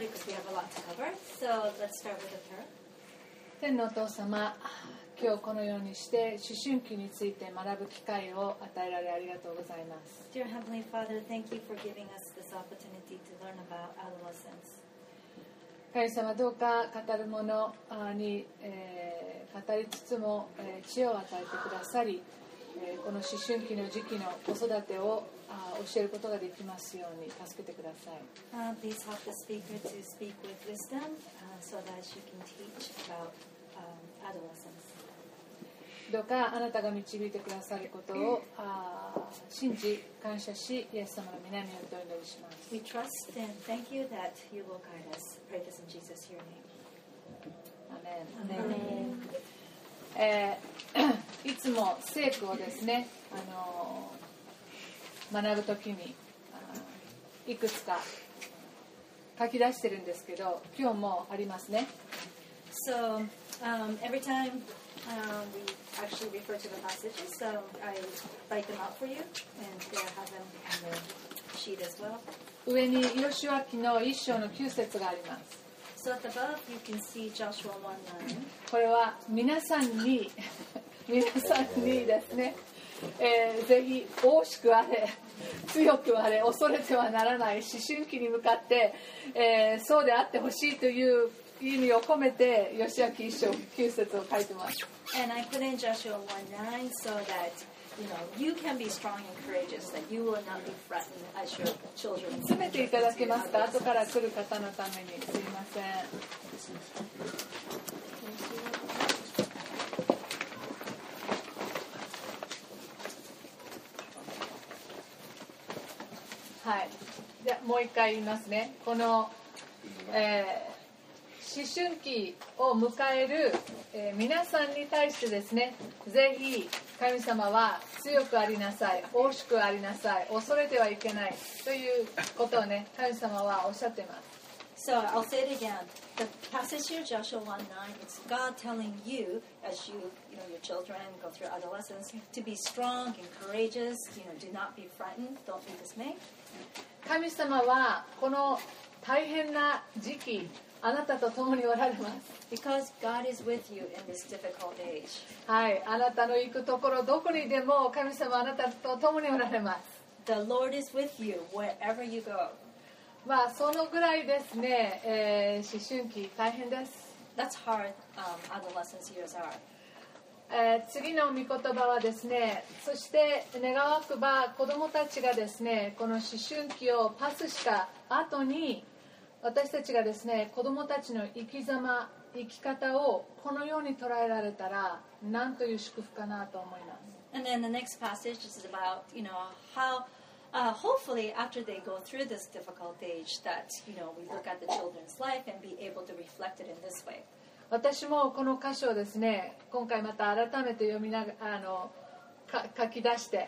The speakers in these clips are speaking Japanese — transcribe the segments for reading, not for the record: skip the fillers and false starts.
started because we have a lot to cover. So let's start with her. 天のお父様、今日このようにして思春期について学ぶ機会を与えられありがとうございます。 Dear Heavenly Father, thank you for giving us this opportunity to learn about adolescence. 神様、どうか語るものに、語りつつも、知恵を与えてくださり、この思春期の時期の子育てを教えることができますように助けてください。 Please help the speaker to speak with wisdom so that she can teach about adolescence. どうかあなたが導いてくださることを信じ感謝し、イエス様の皆によってお祈りします。 We trust and thank you that you will guide us. Pray this in Jesus' your name. アメン。いつも聖句をですね、学ぶときにいくつか書き出してるんですけど、今日もありますね。 So every time we actually refer to the passages, so I write them out for you, and I have them on the sheet as well. 上にヨシュア記の1章の9節があります。 So at the above you can see Joshua 1:9. これは皆さんにですね、ぜひ大しくあれ強くあれ恐れてはならない思春期に向かって、そうであってほしいという意味を込めてヨシュア記1章9節を書いてます。 And I put in Joshua 1:9 so that you can be strong and courageous, that you will not be frightened as your children. 詰めていただけますか？後から来る方のためにすいません。はい。じゃあもう一回言いますね。この、思春期を迎える、皆さんに対してですね、ぜひ神様は強くありなさい、大しくありなさい、恐れてはいけないということをね、神様はおっしゃっています。 So I'll say it again. The passage here, Joshua 1:9, it's God telling you, as your children go through adolescence, to be strong and courageous. Do not be frightened. Don't be dismayed. 神様はこの大変な時期、あなたと共におられます。 Because God is with you in this difficult age. はい、あなたの行くところどこにでも神様はあなたと共におられます。 The Lord is with you wherever you go. まあそのぐらいですね、思春期大変です。 That's hard adolescence years are. 次の御言葉はですね、そして願わくば子どもたちがですね、この思春期をパスした後に私たちがですね、子どもたちの生き様、生き方をこのように捉えられたらなんという祝福かなと思います。 And then the next passage is about, how hopefully after they go through this difficult age that, we look at the children's life and be able to reflect it in this way. 私もこの箇所をですね、今回また改めて読みながら書き出して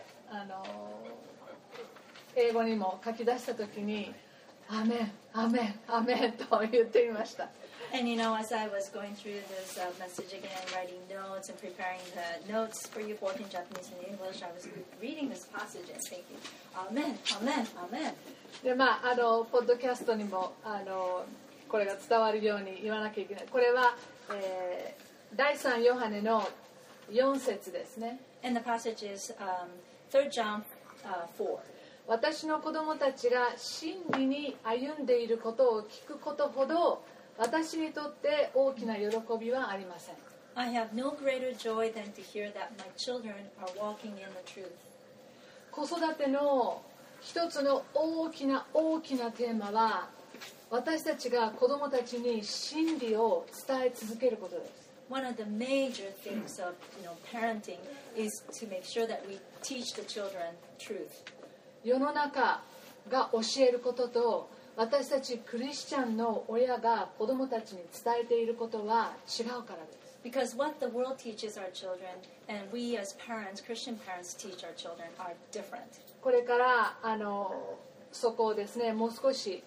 英語にも書き出したときにアメン、アメン、アメンと言ってみました。 And as I was going through this message again, writing notes and preparing the notes for you both in Japanese and English, I was reading this passage and thinking, Amen, Amen, Amen. でポッドキャストにもこれが伝わるように言わなきゃいけない。これは、第3ヨハネの4節ですね。 And the passage is 3 John 4. 私の子供たちが真理に歩んでいることを聞くことほど私にとって大きな喜びはありません。 I have no greater joy than to hear that my children are walking in the truth. 子育ての一つの大きなテーマは私たちが子供たちに真理を伝え続けることです。 One of the major things of parenting is to make sure that we teach the children truth. 世の中が教えることと私たちクリスチャンの親が子供たちに伝えていることは違うからです。 Because what the world teaches our children and we as parents, Christian parents, teach our children are different. これからそこをですねもう少し、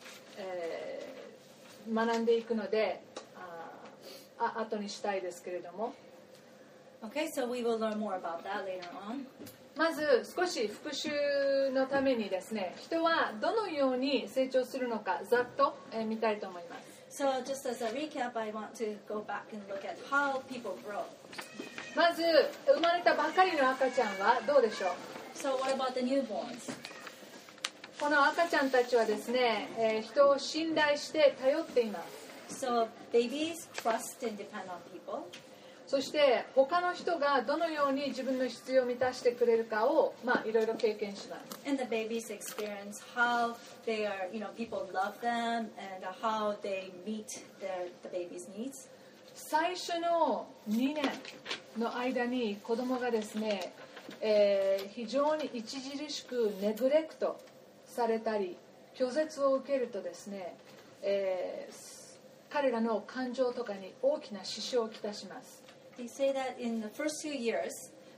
学んでいくので後にしたいですけれども Okay, so we will learn more about that later on. まず少し復習のためにですね、人はどのように成長するのかざっと見たいと思います。 So just as a recap, I want to go back and look at how people grow. まず生まれたばかりの赤ちゃんはどうでしょう。 So what about the newborns? この赤ちゃんたちはですね、人を信頼して頼っています。 So babies trust and depend on people. そして他の人がどのように自分の必要を満たしてくれるかをいろいろ経験します。 And the babies experience how they are, people love them and how they meet the baby's needs. 最初の2年の間に子供がですね、非常に著しくネグレクトされたり拒絶を受けるとですね、彼らの感情とかに大きな支障をきたします。 They say that in the first 2 years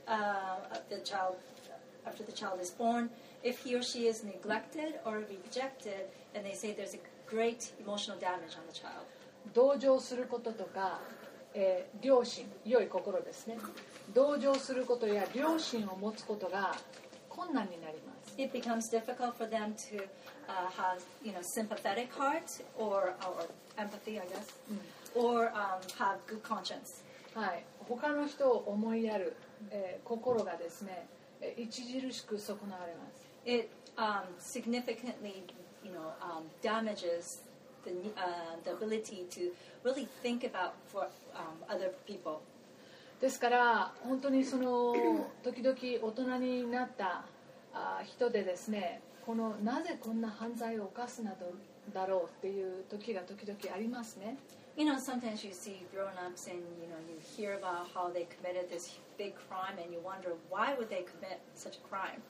after the child is born, if he or she is neglected or rejected, and they say there's a great emotional damage on the child. 同情することとか、良心、良い心ですね。同情することや良心を持つことが困難になります。 It becomes difficult for them to have, sympathetic heart or empathy, I guess, or have good conscience. はい、他の人を思いやる、心がですね、著しく損なわれます。 It significantly, damages the ability to really think about for other people. ですから本当にその時々大人になった人でですね、なぜこんな犯罪を犯すなどだろうっていう時が時々ありますね。 Sometimes you see grown-ups and, you hear about how they committed this big crime and you wonder why would they commit such a crime?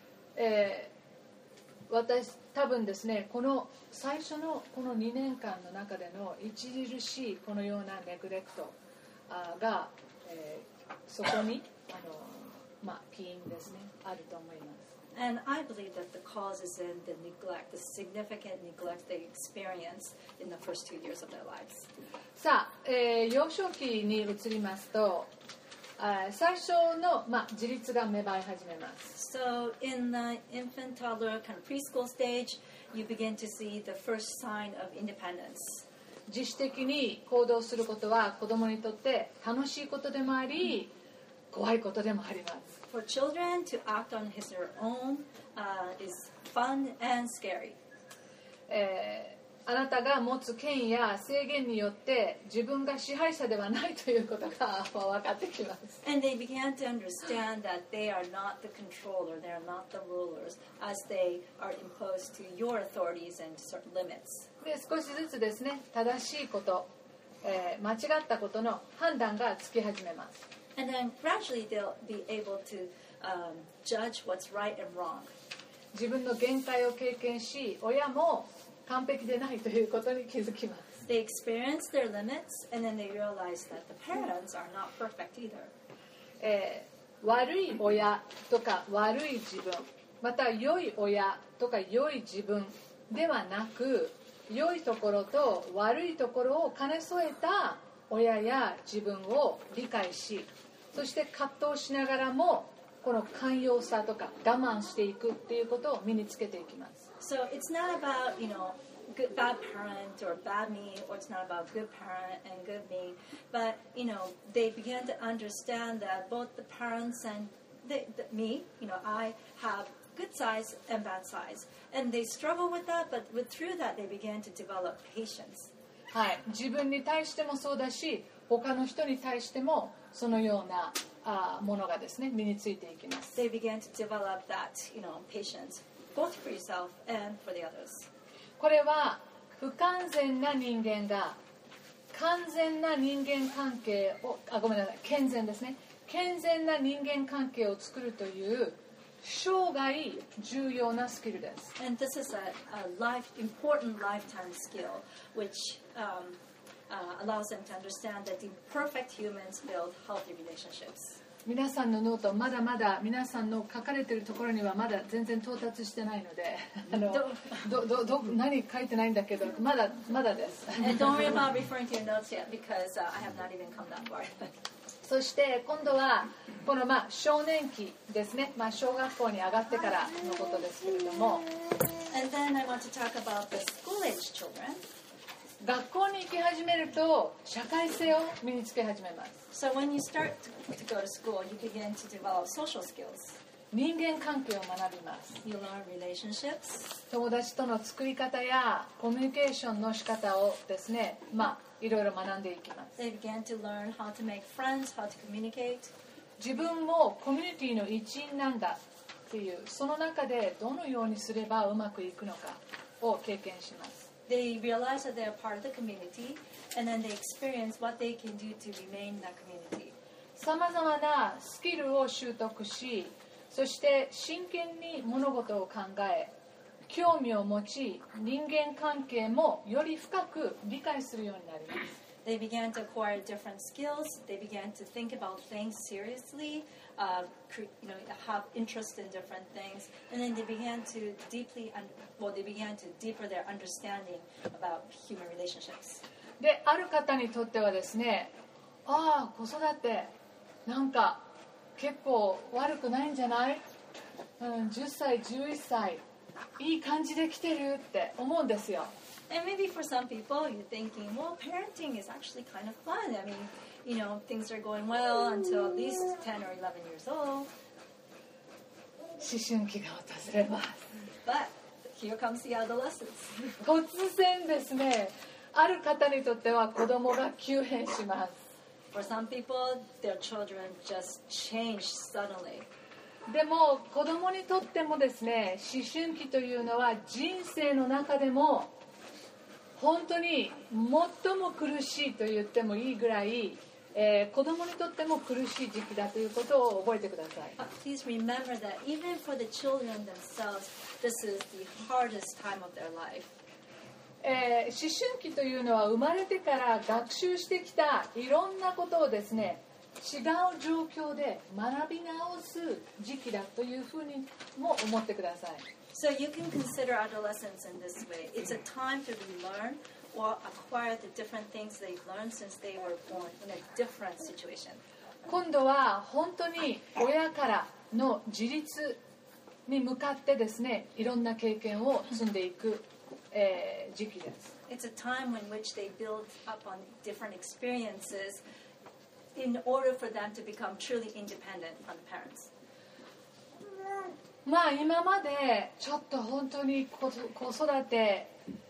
私多分ですね、この最初のこの2年間の中での著しいこのようなネグレクトが、そこに起因ですね、あると思います。 And I believe that the cause is in the neglect, the significant neglect they experience in the first 2 years of their lives. さあ、幼少期に移りますと、最初の、自立が芽生え始めます。 So in the infant, toddler, kind of preschool stage, you begin to see the first sign of independence. 自主的に行動することは子供にとって楽しいことでもあり、怖いことでもあります。 For children to act on their own is fun and scary. あなたが持つ権威や制限によって自分が支配者ではないということが分かってきます。 And they began to understand that they are not the controller, they are not the rulers, as they are imposed to your authorities and certain limits. で少しずつですね、正しいこと、間違ったことの判断がつき始めます。 And then gradually they'll be able to judge what's right and wrong. 自分の限界を経験し、親も完璧でないということに気づきます。 They experience their limits and then they realize that the parents are not perfect either. 悪い親とか悪い自分、また良い親とか良い自分ではなく、良いところと悪いところを兼ね添えた親や自分を理解し、そして葛藤しながらもこの寛容さとか我慢していくっていうことを身につけていきます。 So it's not about, good, bad parent or bad me, or it's not about good parent and good me, but, they began to understand that both the parents and me, I have good sides and bad sides. And they struggle with that, but through that they began to develop patience. はい、自分に対してもそうだし、他の人に対してもそのようなものがですね、身についていきます。 They began to develop that, patience, both for yourself and for the others. これは不完全な人間が完全な人間関係をごめんなさい、健全ですね、健全な人間関係を作るという生涯重要なスキルです。 And this is a important lifetime skill, which allows them to understand that the perfect humans build healthy relationships. 皆さんのノートまだまだ皆さんの書かれているところにはまだ全然到達してないので何書いてないんだけどまだです。 And don't worry about referring to your notes yet because I have not even come that far. そして今度はこの少年期ですね、小学校に上がってからのことですけれども、 And then I want to talk about the school-age children. 学校に行き始めると社会性を身につけ始めます。 So when you start to go to school, you begin to develop social skills. 人間関係を学びます。 You learn relationships. 友達との作り方やコミュニケーションの仕方をですね、いろいろ学んでいきます。 They began to learn how to make friends, how to communicate. 自分もコミュニティの一員なんだっていう、その中でどのようにすればうまくいくのかを経験します。 They realize that they're part of the community, and then they experience what they can do to remain in that community. さまざまなスキルを習得し、そして真剣に物事を考え、興味を持ち、人間関係もより深く理解するようになります。 They began to acquire different skills. They began to think about things seriously, have interest in different things, and then they began to deeper their understanding about human relationships. で、ある方にとってはですね、子育てなんか結構悪くないんじゃない？ 10歳、11歳いい感じで来てるって思うんですよ。 And maybe for some people, you're thinking, well, parenting is actually kind of fun. I mean, things are going well until at least 10 or 11 years old. 思春期が訪れます。 But here comes the adolescence. 突然ですね、ある方にとっては子供が急変します。 For some people, their children just change suddenly. でも子供にとってもですね、思春期というのは人生の中でも本当に最も苦しいと言ってもいいぐらい、子供にとっても苦しい時期だということを覚えてください。 Please remember that even for the children themselves, this is the hardest time of their life. 思春期というのは生まれてから学習してきたいろんなことをですね、違う状況で学び直す時期だというふうにも思ってください。 So you can consider adolescence in this way. It's a time to relearn or acquire the different things they've learned since they were born in a different situation. 今度は本当に親からの自立に向かってですね、いろんな経験を積んでいく、時期です。 It's a time in which they build up on different experiences in order for them to become truly independent from the parents. 今までちょっと本当に子育て、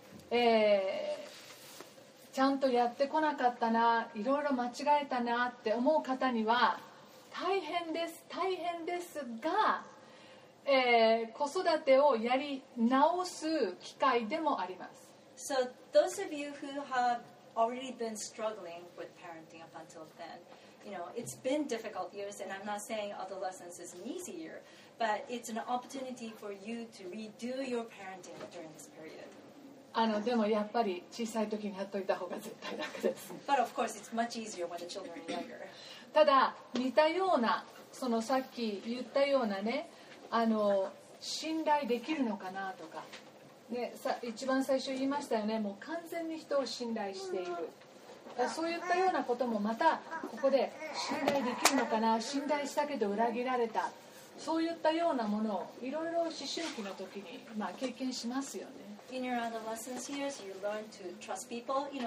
ちゃんとやってこなかったな、いろいろ間違えたなって思う方には大変ですが、子育てをやり直す機会でもあります。 So those of you who have already been struggling with parenting up until then, it's been difficult years, and I'm not saying adolescence is an easy year, but it's an opportunity for you to redo your parenting during this period. でもやっぱり小さい時にやっといた方が絶対楽です。 But of course, it's much easier when the children are younger. ただ似たような、そのさっき言ったようなね、信頼できるのかなとか、ね、一番最初言いましたよね、もう完全に人を信頼している。そういったようなこともまたここで信頼できるのかな、信頼したけど裏切られた、そういったようなものをいろいろ思春期の時に経験しますよね。 In your adolescence years, you learn to trust people. You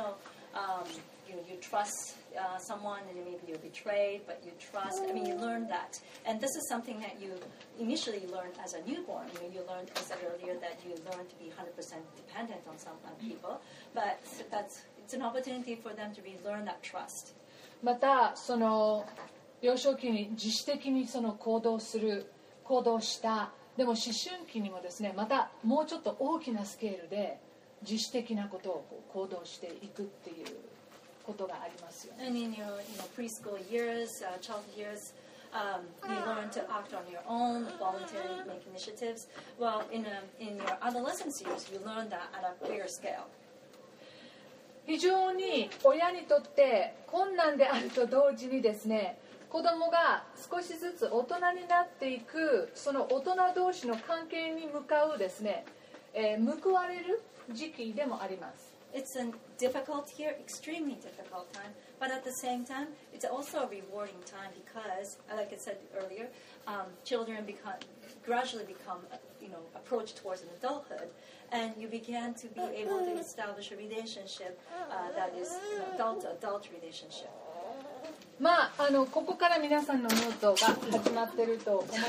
trust someone, and maybe you're betrayed, but you trust. I mean, you learn that, and this is something that you initially learned as a newborn. You learned, I said earlier, that you learn to be 100% dependent on some people, but it's an opportunity for them to relearn that trust. またその幼少期に自主的にその行動した。でも思春期にもですね、またもうちょっと大きなスケールで自主的なことを行動していくっていうことがありますよね。 And in your preschool years, childhood years, you learn to act on your own, voluntarily make initiatives. Well, in your adolescence years, you learn that at a bigger scale. 非常に親にとって困難であると同時にですね、子供が少しずつ大人になっていく、その大人同士の関係に向かうですね、報われる時期でもあります。 it's a difficult year, extremely difficult time, but at the same time, it's also a rewarding time because, like I said earlier, children gradually become, approach towards an adulthood, and you begin to be able to establish a relationship that is adult relationship. まあ、ここから皆さんのノートが始まっていると思います。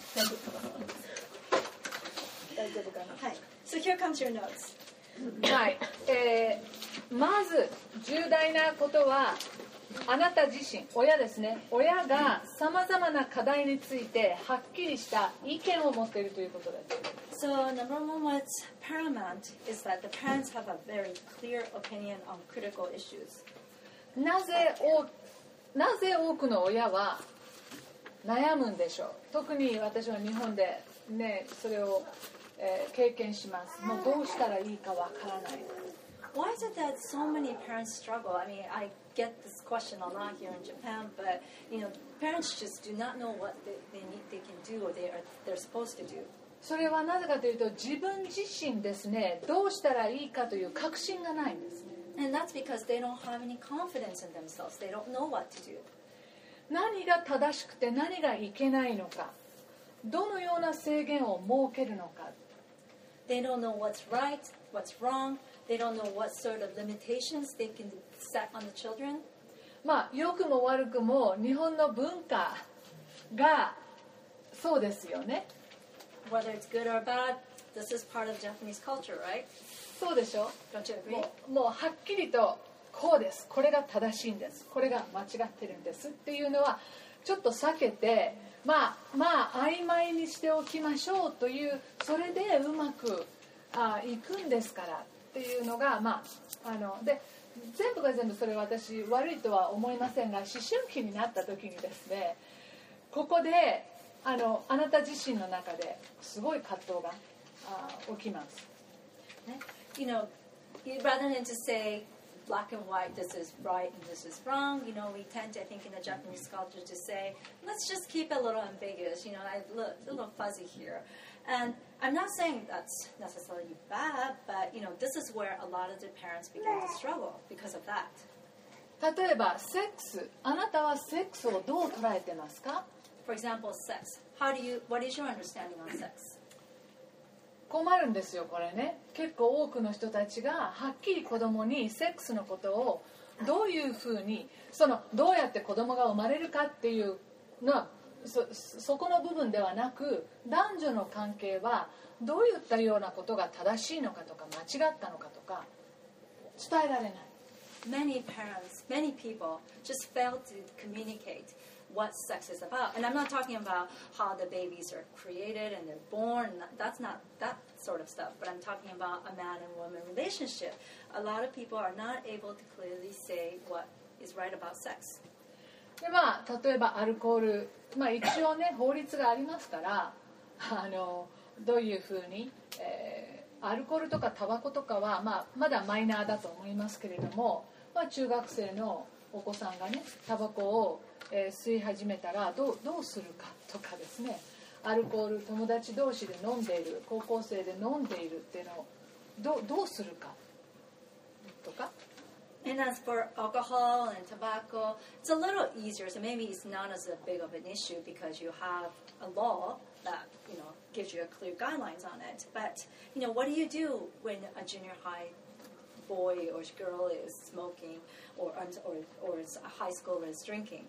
大丈夫かな。 はい。So here comes your notes. はい。まず重大なことは、あなた自身、親ですね。親がさまざまな課題についてはっきりした意見を持っているということです。 So number one, what's paramount is that the parents have a very clear opinion on critical issues. なぜ多くの親は悩むんでしょう。特に私は日本でね、それを、経験します。もうどうしたらいいかわからない。 Why is it that so many parents struggle? I mean, I get this question a lot here in Japan, but parents just do not know what they can do or they're supposed to do. それはなぜかというと、自分自身ですね、どうしたらいいかという確信がないんですね。 And that's because they don't have any confidence in themselves. They don't know what to do. 何が正しくて何がいけないのか、どのような制限を設けるのか。 They don't know what's right, what's wrong. They don't know what sort of limitations they can set on the children. まあ、良くも悪くも日本の文化がそうですよね。 Whether it's good or bad, this is part of Japanese culture, right? そうでしょ。 Don't you agree? もうはっきりとこうです、これが正しいんです、これが間違ってるんですっていうのはちょっと避けて、まあ曖昧にしておきましょうという、それでうまくいくんですからっていうのが、で全部が全部それは私悪いとは思いませんが、思春期になった時にですね、ここであなた自身の中ですごい葛藤が起きます。 Rather than to say black and white, this is right and this is wrong, we tend to, I think, in the Japanese culture to say, let's just keep it a little ambiguous, a little fuzzy here. And I'm not saying that's necessarily bad, but, this is where a lot of the parents begin to struggle because of that. 例えば、セックス。あなたはセックスをどう捉えてますか？ For example, sex. What is your understanding on sex? 困るんですよ、これね。結構多くの人たちがはっきり子供にセックスのことをどういうふうに、どうやって子供が生まれるかっていうのはそこの部分ではなく、男女の関係はどういったようなことが正しいのかとか間違ったのかとか伝えられない。 Many parents, many people just fail to communicate what sex is about. And I'm not talking about how the babies are created and they're born. That's not that sort of stuff. But I'm talking about a man and woman relationship. A lot of people are not able to clearly say what is right about sex. で例えばアルコール、一応ね法律がありますからどういうふうに、アルコールとかタバコとかは、まだマイナーだと思いますけれども、中学生のお子さんがねタバコを、吸い始めたらどうするかとかですね、アルコール友達同士で飲んでいる、高校生で飲んでいるっていうのをどうするかとか。 And as for alcohol and tobacco, it's a little easier. So maybe it's not as big of an issue because you have a law that gives you a clear guidelines on it. But what do you do when a junior high boy or girl is smoking, or a high schooler is drinking?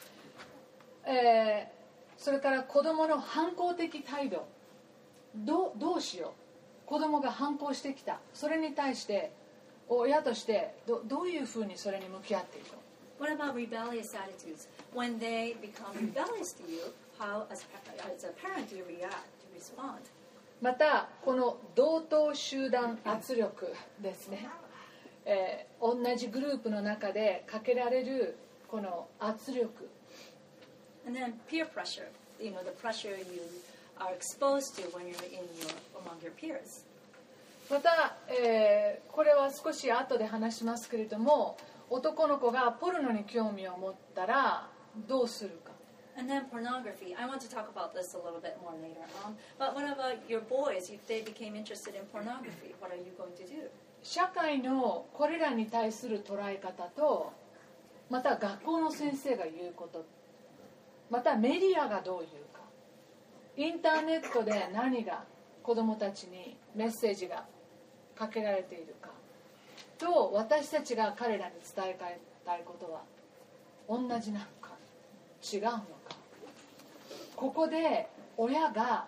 それから子どもの反抗的態度、どうしよう。子どもが反抗してきた、それに対して親としてどういうふうにそれに向き合っていくの？ What about rebellious attitudes? When they become rebellious to you, how as a parent do you react, do you respond? またこの同等集団圧力ですね、同じグループの中でかけられるこの圧力。 And then peer pressure, the pressure you are exposed to when you're among your peers. また、これは少し後で話しますけれども、男の子がポルノに興味を持ったらどうするか。 And then pornography. I want to talk about this a little bit more later on. But what about your boys? If they became interested in pornography, what are you going to do? 社会のこれらに対する捉え方と、また学校の先生が言うこと、またメディアがどう言うか、インターネットで何が子どもたちにメッセージがかけられているかと、私たちが彼らに伝えたいことは同じなのか違うのか、ここで親が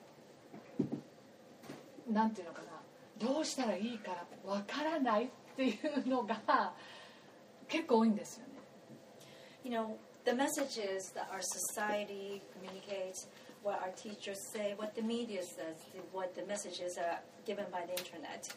なんていうのかな、どうしたらいいかわからないっていうのが結構多いんですよね。 You know, the messages that our society communicates, what our teachers say, what the media says, what the messages are given by the internet,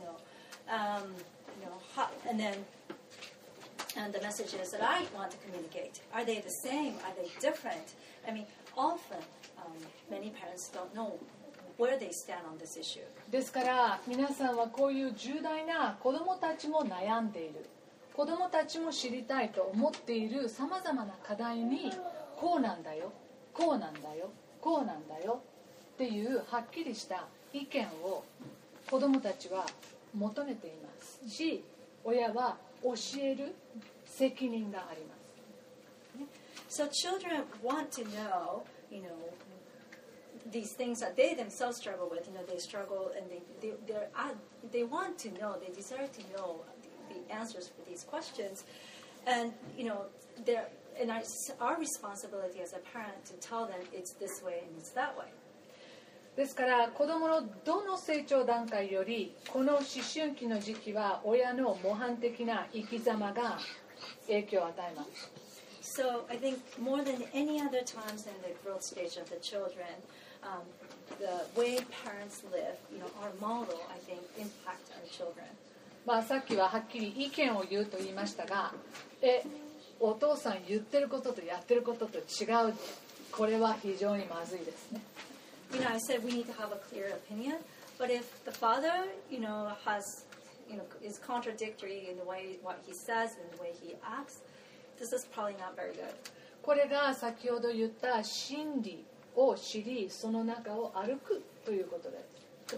and the messages that I want to communicate, are they the same? Are they different? I mean, often many parents don't know where they stand on this issue. ですから皆さんはこういう重大な子どもたちも悩んでいる、子どもたちも知りたいと思っているさまざまな課題に、こうなんだよ、こうなんだよ、こうなんだよっていうはっきりした意見を子どもたちは求めていますし、親は教える責任があります。 So children want to know, these things that they themselves struggle with. They struggle and they want to know, they desire to know the answers for these questions, and our responsibility as a parent to tell them it's this way and it's that way. ですから子どものどの成長段階よりこの思春期の時期は親の模範的な生き様が影響を与えます。 So I think more than any other times in the growth stage of the children, the way parents live, our model, I think, impact our children. さっきははっきり意見を言うと言いましたが、お父さん言ってることとやってることと違う。これは非常にまずいですね。 I said we need to have a clear opinion, but if the father, is contradictory in the way what he says and the way he acts, this is probably not very good. これが先ほど言った真理を知り、その中を歩くということです。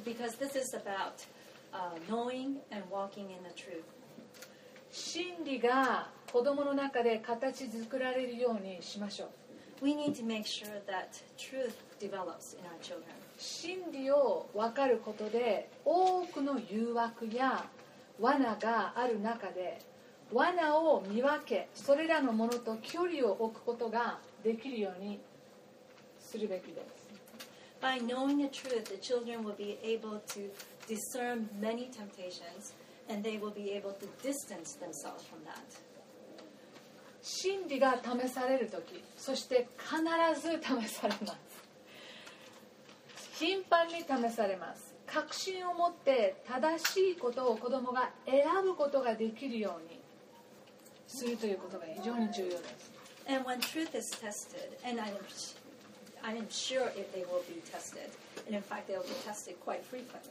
Because this is about knowing and walking in the truth. 真理が子供の中で形作られるようにしましょう。 We need to make sure that truth develops in our children. 真理を分かることで多くの誘惑や罠がある中で罠を見分け、それらのものと距離を置くことができるようにするべきです。 By knowing the truth, the children will be able to discern many temptations, and they will be able to distance themselves from that. 真理が試されるとき、そして必ず試されます。頻繁に試されます。確信を持って正しいことを子供が選ぶことができるようにするということが非常に重要です。 And when truth is tested, and I am sure they will be tested, and in fact they will be tested quite frequently.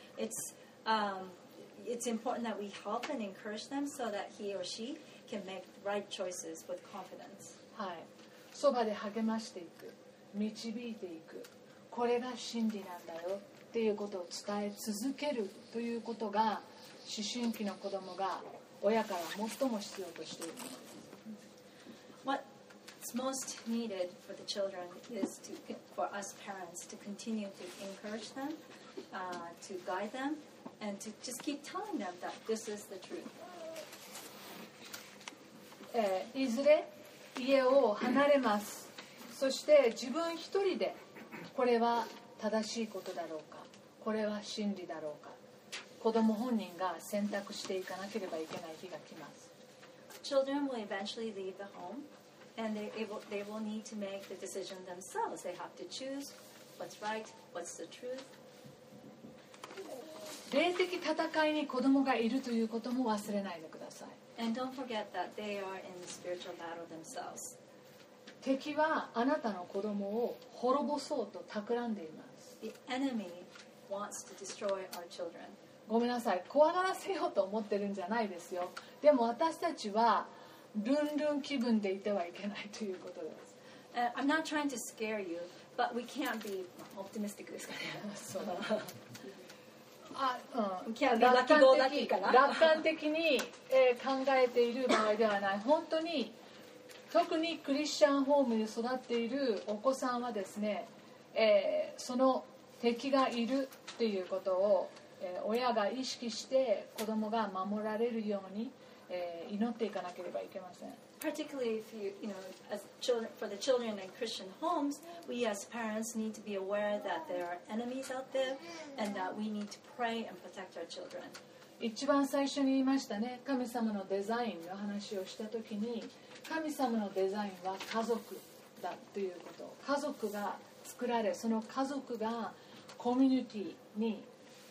It's important that we help and encourage them so that he or she can make right choices with confidence. はい。そばで励ましていく、導いていく、これが真理なんだよっていうことを伝え続けるということが思春期の子供が親から最も必要としているものです。 What's most needed for the children is for us parents to continue to encourage them, to guide them, and to just keep telling them that this is the truth. いずれ家を離れます。そして自分一人でこれは正しいことだろうか、これは真理だろうか、子供本人が選択していかなければいけない日が来ます。 Children will eventually leave the home, and they will need to make the decision themselves. They have to choose what's right, what's the truth. 霊的戦いに子供がいるということも忘れないでください。 And don't forget that they are in the spiritual battle themselves. 敵はあなたの子供を滅ぼそうと企んでいます。 The enemy wants to destroy our children. ごめんなさい、怖がらせようと思ってるんじゃないですよ。でも私たちはルンルン気分でいてはいけないということです。 I'm not trying to scare you, but we can't be optimistic ですかね。 そう楽観的に、考えている場合ではない。本当に特にクリスチャンホームに育っているお子さんはですね、その敵がいるということを、親が意識して子供が守られるように、祈っていかなければいけません。 Particularly if as children, for the children in Christian homes, we as parents need to be aware that there are enemies out there and that we need to pray and protect our children. 一番最初に言いましたね、神様のデザインの話をしたときに、神様のデザインは家族だということ。家族が作られ、その家族がコミュニティに、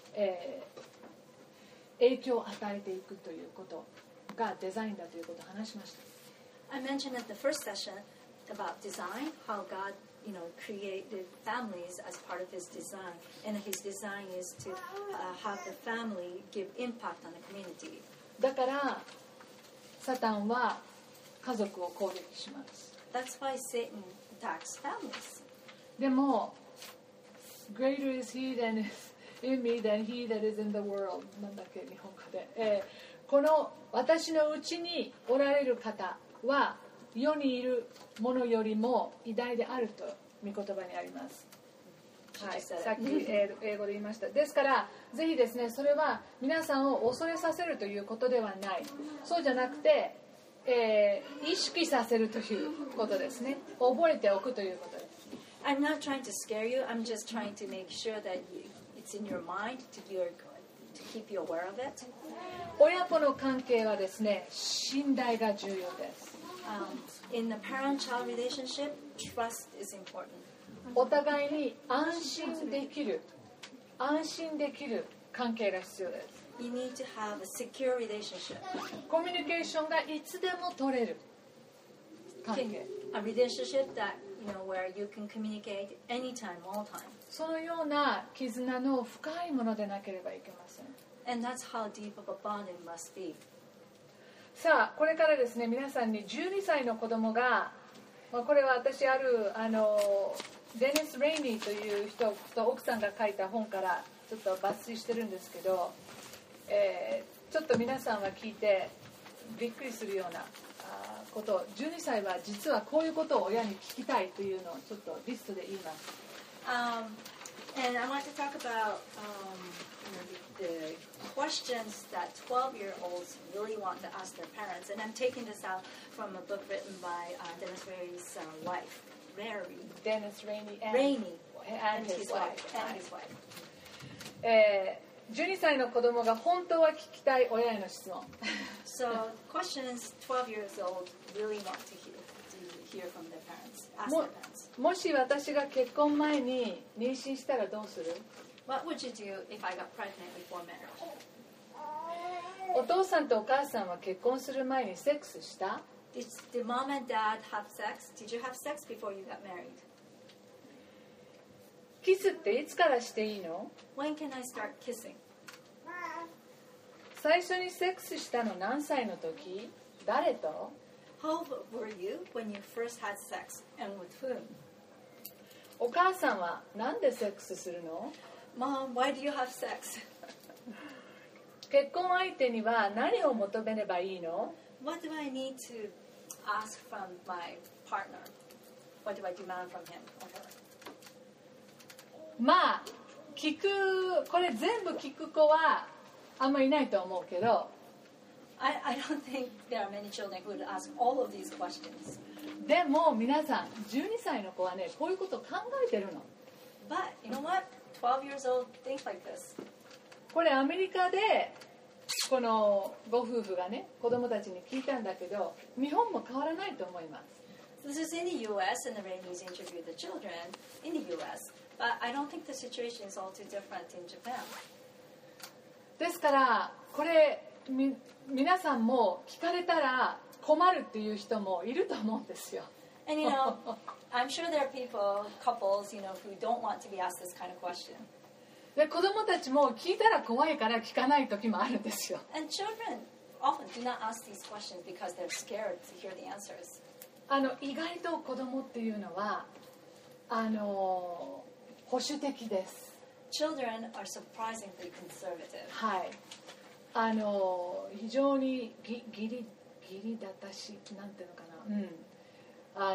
影響を与えていくということがデザインだということを話しました。 I mentioned at the first session about design, how God, created families as part of His design, and His design is to have the family give impact on the community. だからサタンは家族を攻撃します。 That's why Satan attacks families. でも Greater is he that is in me than he that is in the world なんだっけ日本語で、この私のうちにおられる方は世にいるものよりも偉大であると御言葉にあります。はい、さっき英語で言いました。ですからぜひですね、それは皆さんを恐れさせるということではない。そうじゃなくて、意識させるということですね。覚えておくということです。 I'm not trying to scare you. I'm just trying to make sure that it's in your mind to keep you aware of it. 親子の関係はですね、信頼が重要です。 In the parent-child relationship, trust is important. お互いに安心できる関係が必要です。 You need to have a secure relationship. コミュニケーションがいつでも取れる関係。 A relationship that where you can communicate anytime, all time. そのような絆の深いものでなければいけません。 And that's how deep of a bond it must be. さあこれからですね、皆さんに12歳の子供が、これは私デニス・レイニーという人と奥さんが書いた本からちょっと抜粋してるんですけど、ちょっと皆さんは聞いてびっくりするようなことを、12歳は実はこういうことを親に聞きたいというのをちょっとリストで言います。 And I want to talk about the questions that 12-year-olds really want to ask their parents. And I'm taking this out from a book written by Dennis Rainey's wife, Dennis Rainey and his wife. 12歳の子供が本当は聞きたい親への質問。 So questions 12 years old really want to hear from their parents, ask their parents. もし私が結婚前に妊娠したらどうする？ What would you do if I got pregnant before marriage? お父さんとお母さんは結婚する前にセックスした？ Did mom and dad have sex? Did you have sex before you got married? キスっていつからしていいの？ When can I start kissing? 最初にセックスしたの何歳の時？誰と？ How old were you when you first had sex and with whom? お母さんはなんでセックスするの？ Mom, why do you have sex? 結婚相手には何を求めればいいの？ What do I need to ask from my partner? What do I demand from him or her? まあこれ全部聞く子はあんまりいないと思うけど、 I don't think there are many children who would ask all of these questions. でも皆さん12歳の子はね、こういうことを考えてるの。 But you know what? 12 years old think like this. これアメリカでこのご夫婦がね、子供たちに聞いたんだけど、日本も変わらないと思います。 This is in the U.S. and the Rainies interviewed the children in the U.S. But I don't think the situation is all too different in Japan. ですからこれ皆さんも聞かれたら困るっていう人もいると思うんですよ。 And I'm sure there are couples, who don't want to be asked this kind of question. で子供たちも聞いたら怖いから聞かない時もあるんですよ。 And children often do not ask these questions because they're scared to hear the answers. 意外と子供っていうのは保守的です。 children are surprisingly conservative. はい、非常に義理だたしなんていうのかな、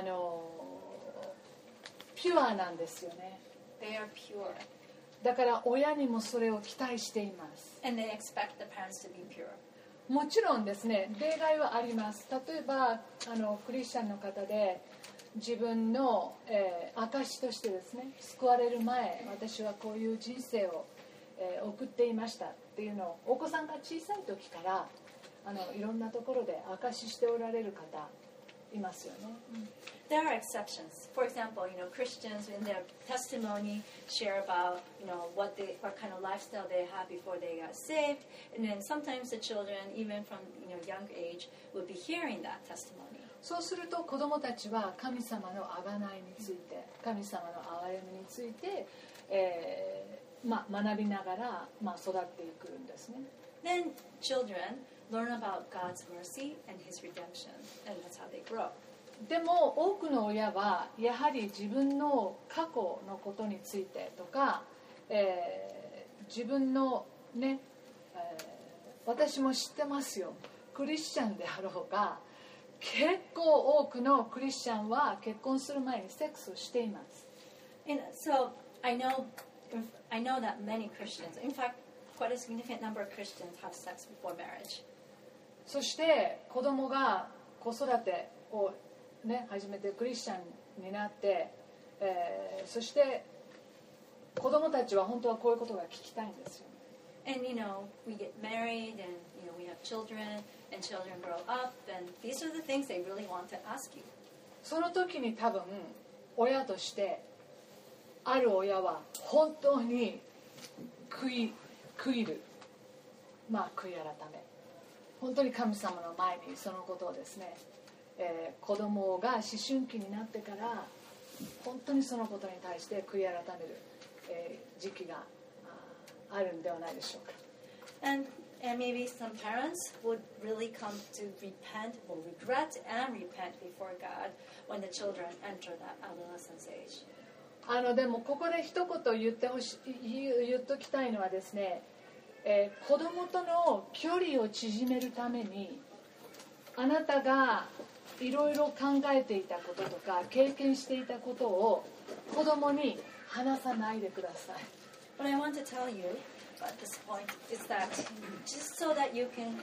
ピュアなんですよね。 They are pure. だから親にもそれを期待しています。 And they expect the parents to be pure. もちろんですね、例外はあります。例えばクリスチャンの方で自分の、証としてですね、救われる前私はこういう人生を、送っていましたっていうのをお子さんが小さい時からいろんなところで証ししておられる方いますよね。 There are exceptions. For example, Christians in their testimony share about, what kind of lifestyle they had before they got saved, and then sometimes the children, even from young age, would be hearing that testimony. そうすると子どもたちは神様の贖いについて、神様の憐れみについて、学びながら、育っていくんですね。 Then children learn about God's mercy and His redemption, and that's how they grow. でも多くの親はやはり自分の過去のことについてとか、自分のね、私も知ってますよ、クリスチャンであろうが結構多くのクリスチャンは結婚する前にセックスをしています。 And so I know that many Christians, in fact, quite a significant number of Christians have sex before marriage. そして子供が子育てを初めてクリスチャンになって、そして子供たちは本当はこういうことが聞きたいんですよ。 And we get married, and we have children, and children grow up, and these are the things they really want to ask you. その時に多分親としてある親は本当に悔いる、悔い改め、本当に神様の前にそのことをですね、子供が思春期になってから本当にそのことに対して悔い改める、時期があるんではないでしょうか。 And maybe some parents would really come to repent, or regret and repent before God when the children enter that adolescence age. でもここで一言言っときたいのはですね、子供との距離を縮めるためにあなたがいろいろ考えていたこととか経験していたことを子供に話さないでください。 What I want to tell you at this point is that just so that you can,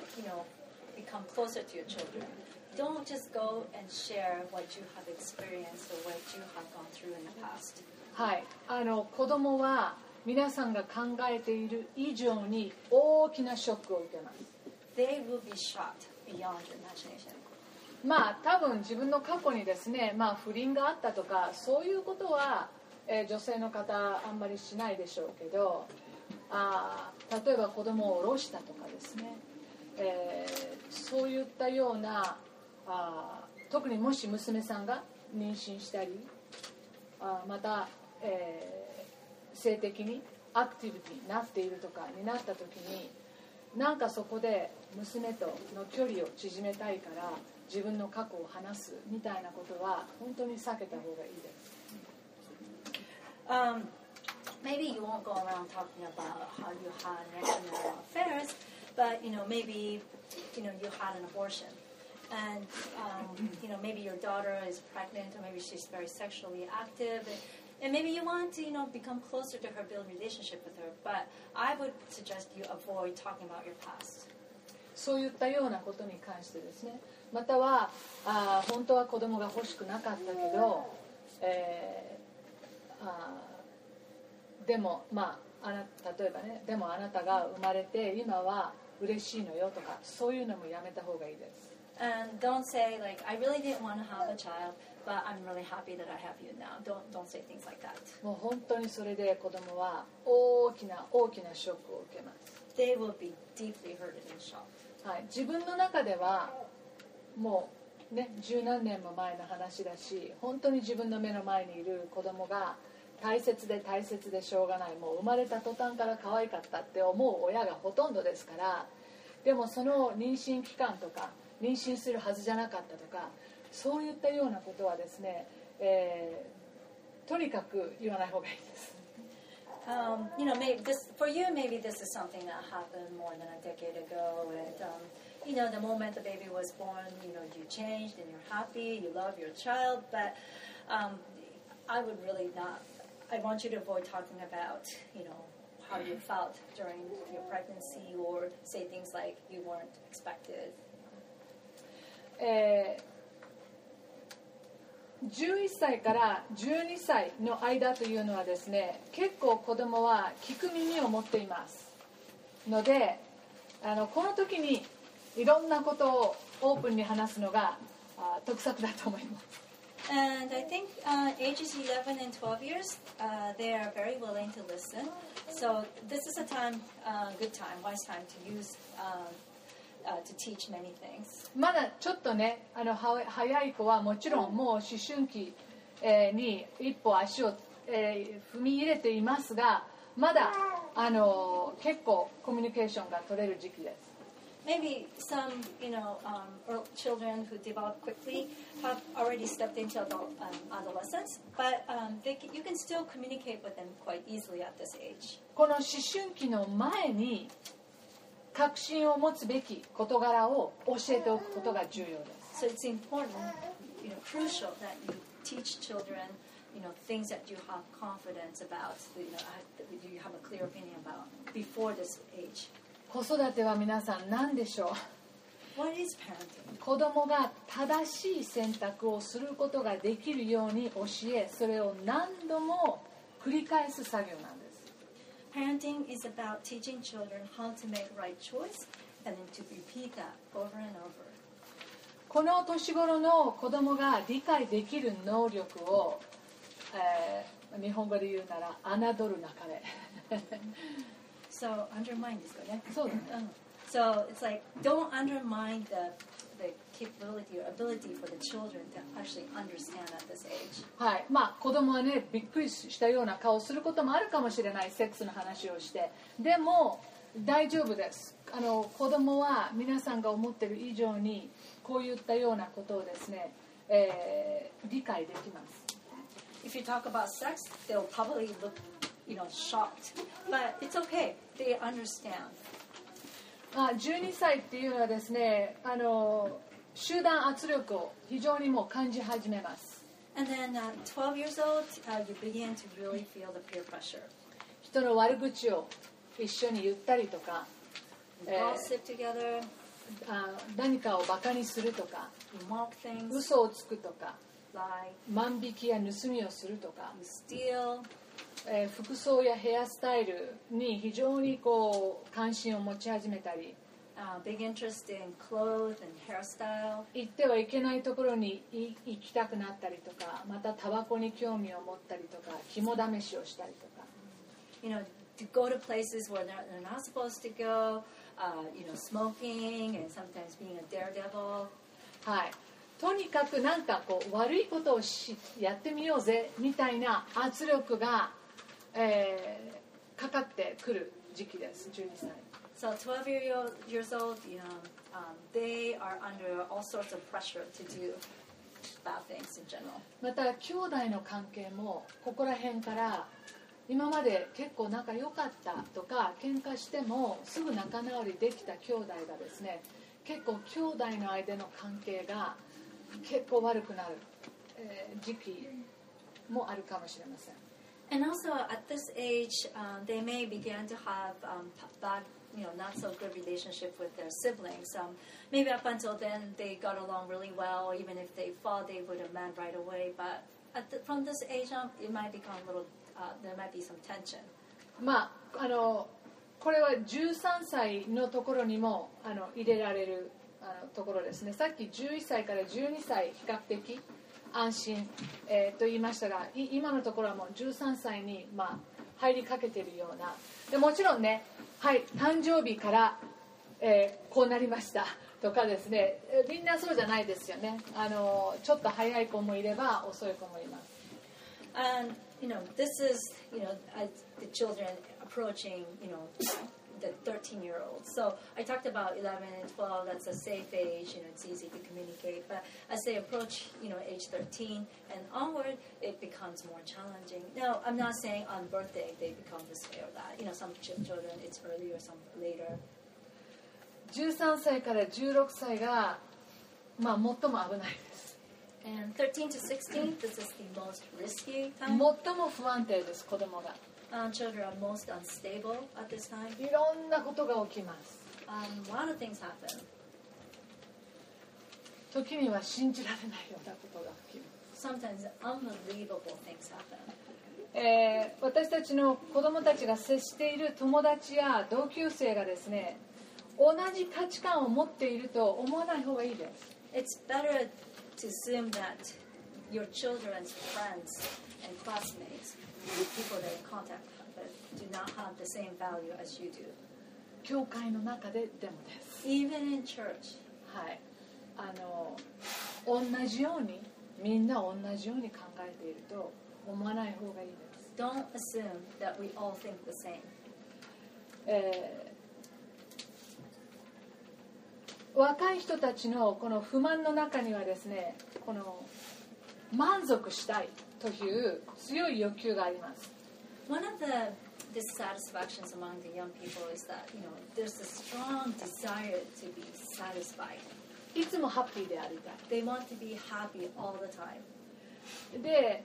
become closer to your children, don't just go and share what you have experienced or what you have gone through in the past. はい、子供は皆さんが考えている以上に大きなショックを受けます。 They will be shocked beyond your imagination. 多分自分の過去にですね、不倫があったとかそういうことは、女性の方あんまりしないでしょうけど、例えば子供を下ろしたとかですね、そういったような特にもし娘さんが妊娠したりまた、性的にアクティビティになっているとかになった時になんかそこで娘との距離を縮めたいから自分の過去を話すみたいなことは本当に避けた方がいいです。 Maybe you won't go around talking about how you had extramarital affairs, but maybe you had an abortion, and maybe your daughter is pregnant, or maybe she's very sexually active, and maybe you want to become closer to her, build a relationship with her. But I would suggest you avoid talking about your past. そういったようなことに関してですね、または本当は子供が欲しくなかったけど、でも例えばね、でもあなたが生まれて今は嬉しいのよとかそういうのもやめた方がいいです。 And don't say like, I really didn't want to have a child, but I'm really happy that I have you now. Don't say things like that. もう本当にそれで子供は大きなショックを受けます。 They will be deeply hurted and shocked. はい、自分の中ではもうね、十何年も前の話だし、本当に自分の目の前にいる子供が大切でしょうがない、もう生まれた途端から可愛かったって思う親がほとんどですから、でもその妊娠期間とか妊娠するはずじゃなかったとかそういったようなことはですね、とにかく言わない方がいいです。 You know, maybe this for you. Maybe this is something that happened more than a decade ago, and you know, the moment the baby was born, you know, you changed and you're happy, you love your child. But I would really not. I want you to avoid talking about, you know, how you felt during your pregnancy, or say things like you weren't expected. 11歳から12歳の間というのはですね、結構子供は聞く耳を持っていますので、この時にいろんなことをオープンに話すのが得策だと思います。 And I think ages 11 and 12 years, they are very willing to listen. So this is a time, good time, wise time to use, to teach many things. まだちょっとね、早い子はもちろんもう思春期、に一歩足を、踏み入れていますが、まだ結構コミュニケーションが取れる時期です。 Maybe some, you know, children who develop quickly have already stepped into adolescence, but you can still communicate with them quite easily at this age. この思春期の前に確信を持つべき事柄を教えておくことが重要です。 So it's important, you know, crucial that you teach children, you know, things that you have confidence about, you know, you have a clear opinion about before this age. 子育ては皆さん何でしょう。 What is parenting? 子供が正しい選択をすることができるように教え、それを何度も繰り返す作業なんです。 Parenting is about teaching children how to make right choice and then to repeat that over and over. この年頃の子供が理解できる能力を、日本語で言うなら侮るなかれ。 So undermine ですかね。 そうだね。 So it's like don't undermine the capability or ability for the children to actually understand at this age. はい、まあ子供はね、びっくりしたような顔をすることもあるかもしれない、セックスの話をして。でも大丈夫です。子供は皆さんが思っている以上にこういったようなことをですね、理解できます。 If you talk about sex, they'll probably look, you know, shocked, but it's okay. They understand. 12歳っていうのはですね、集団圧力を非常にもう感じ始めます。 And then 12 years old, you begin to really feel the peer pressure. 人の悪口を一緒に言ったりとか、 gossip together. 何かをバカにするとか、 You mock things. 嘘をつくとか、 lie. 万引きや盗みをするとか、 You steal. 服装やヘアスタイルに非常にこう関心を持ち始めたり、 big interest in clothes and hairstyle. 行ってはいけないところに行きたくなったりとか、またタバコに興味を持ったりとか、肝試しをしたりとか。 You know, to go to places where they're not supposed to go. You know, smoking and sometimes being a daredevil. はい。とにかくなんかこう悪いことをやってみようぜみたいな圧力が、かかってくる時期です。12歳。 So 12 years old, you know, they are under all sorts of pressure to do bad things in general. また兄弟の関係もここら辺から今まで結構仲良かったとか喧嘩してもすぐ仲直りできた兄弟がですね、結構兄弟の間の関係が結構悪くなる、時期もあるかもしれません。 And also at this age, they may begin to have bad, you know, not so good relationship with their siblings. Maybe up until then they got along really well. Even if they fought, they would have met right away. But from this age on, it might become a little. There might be some tension. まあこれは13歳のところにも入れられるところですね。さっき11歳から12歳比較的安心、と言いましたが、今のところはもう13歳に、入りかけているような。でもちろんね、はい、誕生日から、こうなりましたとかですね、みんなそうじゃないですよね。ちょっと早い子もいれば遅い子もいます。 And you know, this is, you know, the children approaching, you know, the 13-year-olds. So I talked about 11 and 12. That's a safe age. You know, it's easy to communicate. But as they approach, you know, age 13 and onward, it becomes more challenging. Now, I'm not saying on birthday they become this way or that. Some children it's earlier, some later. 13歳から16歳が、最も危ないです。 And 13 to 16, this is the most risky time. 最も不安定です、子供が。 Children are most unstable at this time. いろんなことが起きます。 A lot of things happen. 時には信じられないようなことが起きます。 Sometimes unbelievable things happen. 私たちの子供たちが接している友達や同級生がですね、同じ価値観を持っていると思わない方がいいです。 It's better to assume that your children's friends and classmates, the people they're in contact with, do not have the same value as you do. 教会の中ででもです。 Even in church. はい。同じように、みんな同じように考えていると思わない方がいいです。 Don't assume that we all think the same. 若い人たちのこの不満の中にはですね、この満足したいという強い欲求があります。 One of the dissatisfactions among the young people is that, there's a strong desire to be satisfied. いつもハッピーでありたい。 They want to be happy all the time. で、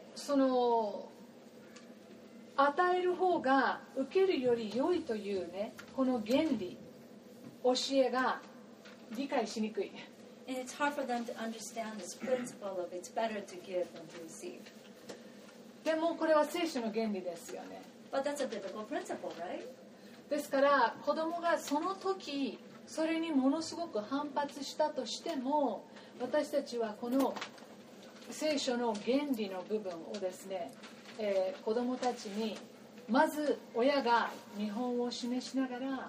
与える方が受けるより良いというね、この原理、教えが理解しにくい。 And it's hard for them to understand this principle of it's better to give than to receive. でもこれは聖書の原理ですよね。 But that's a biblical principle, right? ですから子供がその時それにものすごく反発したとしても、私たちはこの聖書の原理の部分をですね、子供たちにまず親が見本を示しながら、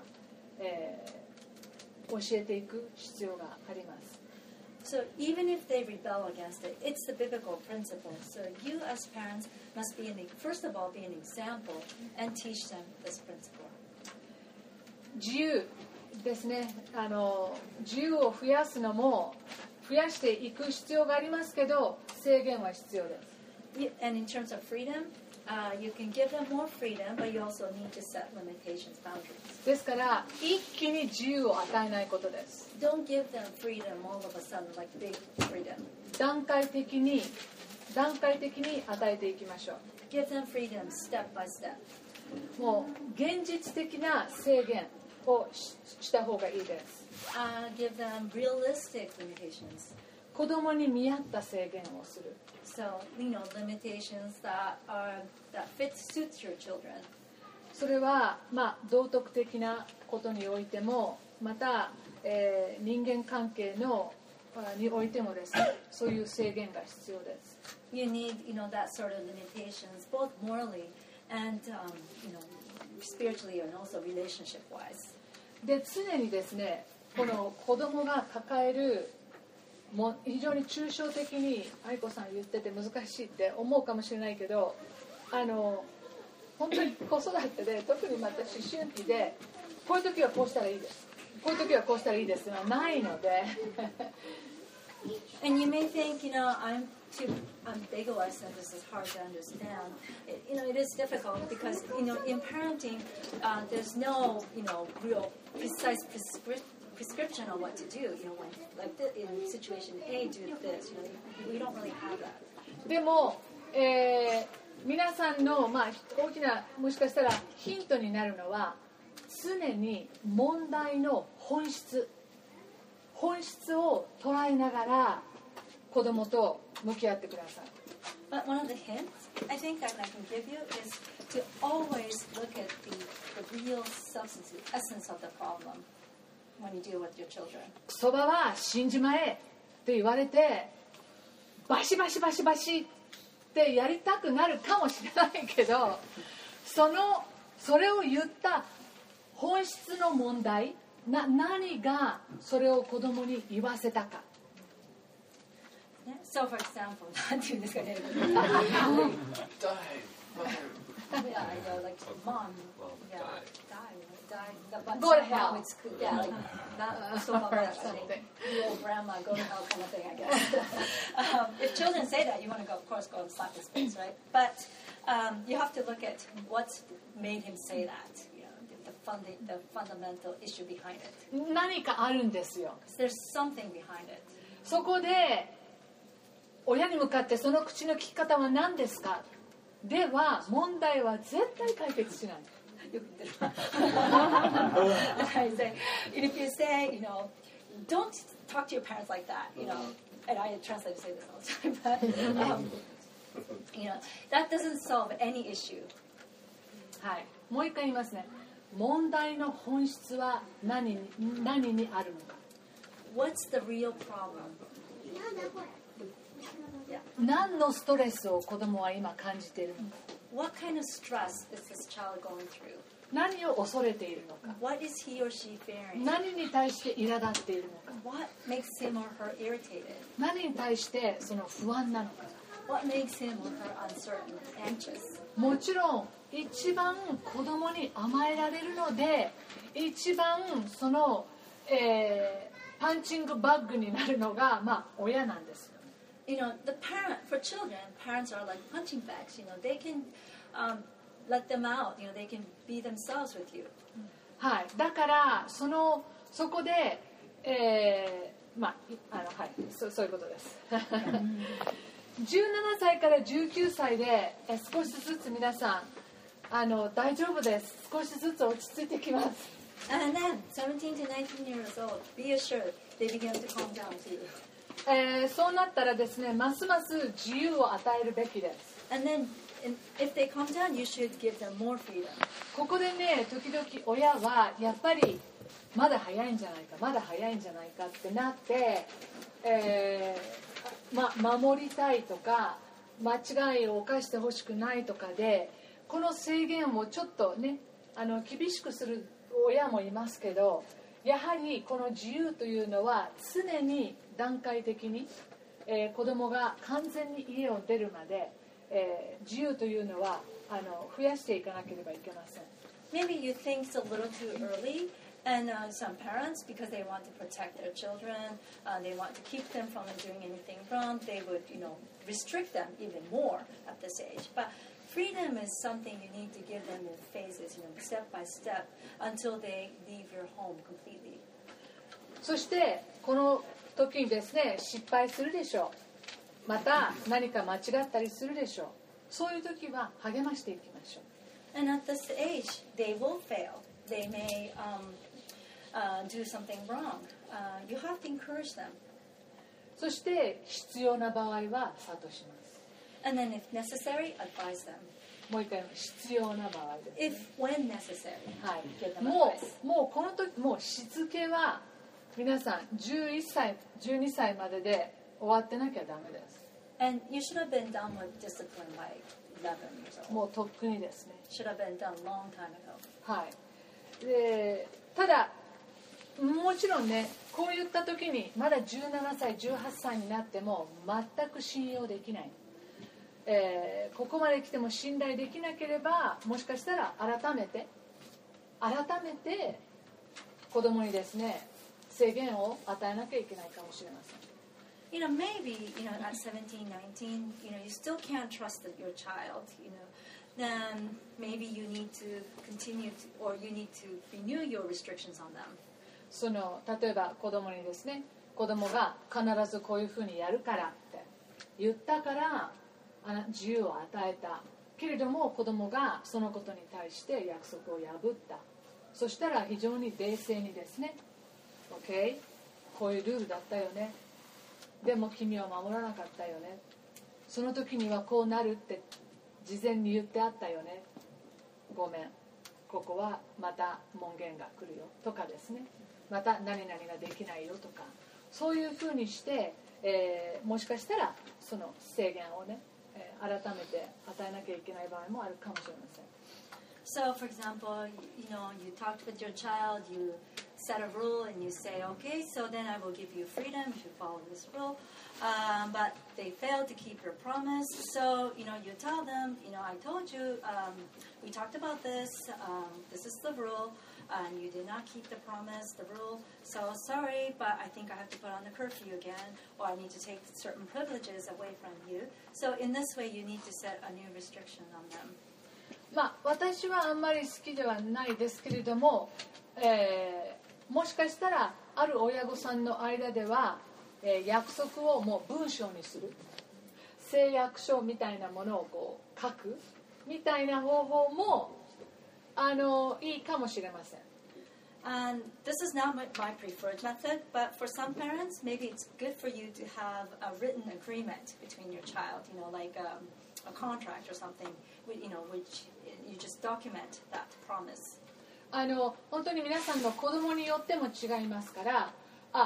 教えていく必要があります。 So even if they rebel against it, it's the biblical principle. So you as parents must first of all be an example and teach them this principle. 自由ですね。自由を増やすのも増やしていく必要がありますけど、制限は必要です。 And in terms of freedom, you can give them more freedom, but you also need to set limitations, boundaries. ですから一気に自由を与えないことです。 Don't give them freedom all of a sudden, like big freedom. 段階的に与えていきましょう。 Give them freedom step by step. もう現実的な制限をした方がいいです。 Give them realistic limitations. 子供に見合った制限をする。 So, limitations that suits your children. それは、道徳的なことにおいても、また、人間関係においてもですね、そういう制限が必要です。 You need, that sort of limitations, both morally and, spiritually and also relationship-wise. で、常にですね、この子供が抱える非常に抽象的に愛子さん言ってて難しいって思うかもしれないけど、本当に子育てで特にまた思春期でこういう時はこうしたらいいです、こういう時はこうしたらいいですがないので And you may think, I'm big of us and this is hard to understand. It is difficult because, in parenting, there's no, real precise prescription on what to do. When, in situation A, do this. We don't really have that. でも、皆さんの、大きなもしかしたらヒントになるのは常に問題の本質を捉えながら子供と向き合ってください。 But one of the hints I think that I can give you is to always look at the real substance, the essence of the problem when you deal with your children. そばは死んじまえって言われてバシバシバシバシってやりたくなるかもしれないけど、それを言った本質の問題、何がそれを子供に言わせたか。 So, for example, なんて言うんですかね。 Yeah, I know, like mom. Well, Yeah, die. But Go to mom hell. would yeah, like not so much. I think you old grandma, go to hell kind of thing, I guess. If children say that, you want to go, of course, go and slap his face, right? But you have to look at what's made him say that. You know, the fundamental issue behind it. 何かあるんですよ。 There's something behind it. そこで親に向かってその口の利き方は何ですかでは問題は絶対解決しない。 I say, if you say, you know, don't talk to your parents like that, you know, and I translate say this all the time, but you know, that doesn't solve any issue. はい、もう一回言いますね。問題の本質は何にあるのか。 What's the real problem? Yeah. 何のストレスを子供は今感じているのか。 What kind of stress is this child going through? 何を恐れているのか。 What is he or she fearing? 何に対して苛立っているのか。 What makes him or her irritated? 何に対してその不安なのか。 What makes him or her uncertain, anxious? もちろん一番子供に甘えられるので一番その、パンチングバッグになるのが、まあ、親なんですよ。 You know, for children, parents are like punching bags. You know, they can let them out. You know, they can be themselves with you. はい、だからそこで、まあはい、そういうことです。17歳から19歳で少しずつ皆さん大丈夫です。少しずつ落ち着いてきます。 And then, 17 to 19 years old, be assured they begin to calm down too. そうなったらですね、ますます自由を与えるべきです。 And then, if they calm down, you should give them more freedom. ここでね、時々親はやっぱりまだ早いんじゃないか、まだ早いんじゃないかってなって、守りたいとか間違いを犯してほしくないとかでこの制限をちょっとね厳しくする親もいますけど、やはりこの自由というのは常に段階的に、子供が完全に家を出るまで、自由というのは増やしていかなければいけません。 Maybe you think it's a little too early, and some parents, because they want to protect their children, they want to keep them from doing anything wrong, they would, you know, restrict them even more at this age. But freedom is something you need to give them in phases, you know, step by step, until they leave your home completely. そしてこの時にですね、失敗するでしょう。また何か間違ったりするでしょう。そういう時は励ましていきましょう。 And at this age, they will fail. They may do something wrong. You have to encourage them. そして必要な場合は諭します。 And then if necessary, advise them. もう一回必要な場合です、ね。 If when necessary, はい。 give them も advice. うこの時もうしつけは皆さん11歳、12歳までで終わってなきゃダメです。 And you should have been done with discipline by 11 years old. もうとっくにですね。 Should have been done long time ago. はい。で、ただもちろんね、こういった時にまだ17歳、18歳になっても全く信用できない。ここまで来ても信頼できなければ、もしかしたら改めて子供にですね、制限を与えなきゃいけないかもしれません。 You know, maybe, you know, at 17, 19, you know, you still can't trust your child, you know, then maybe you need to continue to, or you need to renew your restrictions on them. 例えば子供にですね、子供が必ずこういうふうにやるからって言ったから自由を与えたけれども、子供がそのことに対して約束を破った。そしたら非常に冷静にですね、 OK、 こういうルールだったよね、でも君は守らなかったよね、その時にはこうなるって事前に言ってあったよね、ごめん、ここはまた門限が来るよとかですね、また何々ができないよとか、そういうふうにして、もしかしたらその制限をね、改めて与えなきゃいけない場合もあるかもしれません。 So, for example, you know, you talked with your child, you set a rule and you say, okay, so then I will give you freedom if you follow this rule. But they failed to keep your promise. So, you tell them, I told you, we talked about this. This is the rule. And you did not keep the promise, the rule. So sorry, but I think I have to put on the curfew again, or I need to take certain privileges away from you. So in this way, you need to set a new restriction on them. 私はあんまり好きではないですけれども、もしかしたらある親御さんの間では、約束をもう文章にする、誓約書みたいなものをこう書くみたいな方法もいいかもしれません。 And this is not my preferred method, but for some parents, maybe it's good for you to have a written agreement between your child, like a contract or something, which you just document that promise. 本当に皆さんの子供によっても違いますから、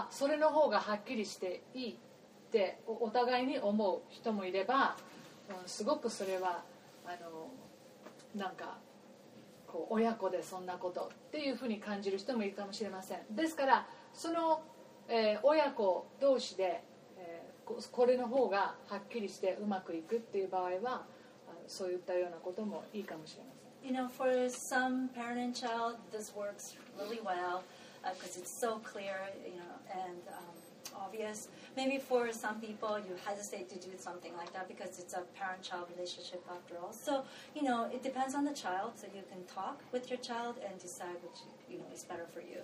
それの方がはっきりしていいってお互いに思う人もいれば、すごくそれはなんかこう親子でそんなことっていうふうに感じる人もいるかもしれません。ですからその、親子同士で、これの方がはっきりしてうまくいくっていう場合はそういったようなこともいいかもしれません。 For some parent and child, this works really well because it's so clear, and obvious. Maybe for some people, you hesitate to do something like that because it's a parent-child relationship after all. So, it depends on the child. So you can talk with your child and decide which, is better for you.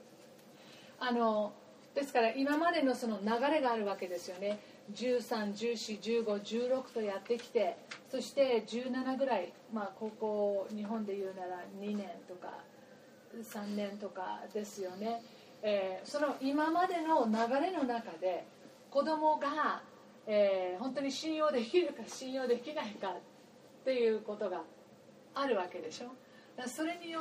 ですから今までのその流れがあるわけですよね。13、14、15、16とやってきて、そして17ぐらい、高校日本で言うなら2年とか3年とかですよね。その今までの流れの中で子供が、本当に信用できるか信用できないかっていうことがあるわけでしょ。それによって、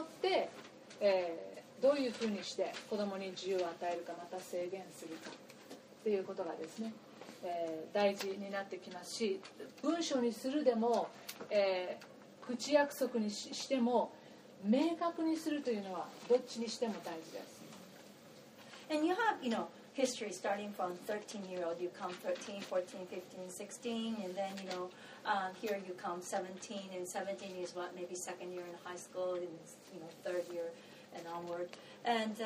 どういうふうにして子供に自由を与えるかまた制限するかっていうことがですね、大事になってきますし、文章にするでも、口約束にしても明確にするというのはどっちにしても大事です。 And you have, history starting from 13-year-old. You come 13, 14, 15, 16, and then, here you come 17, and 17 is maybe second year in high school, and, third year and onward. And,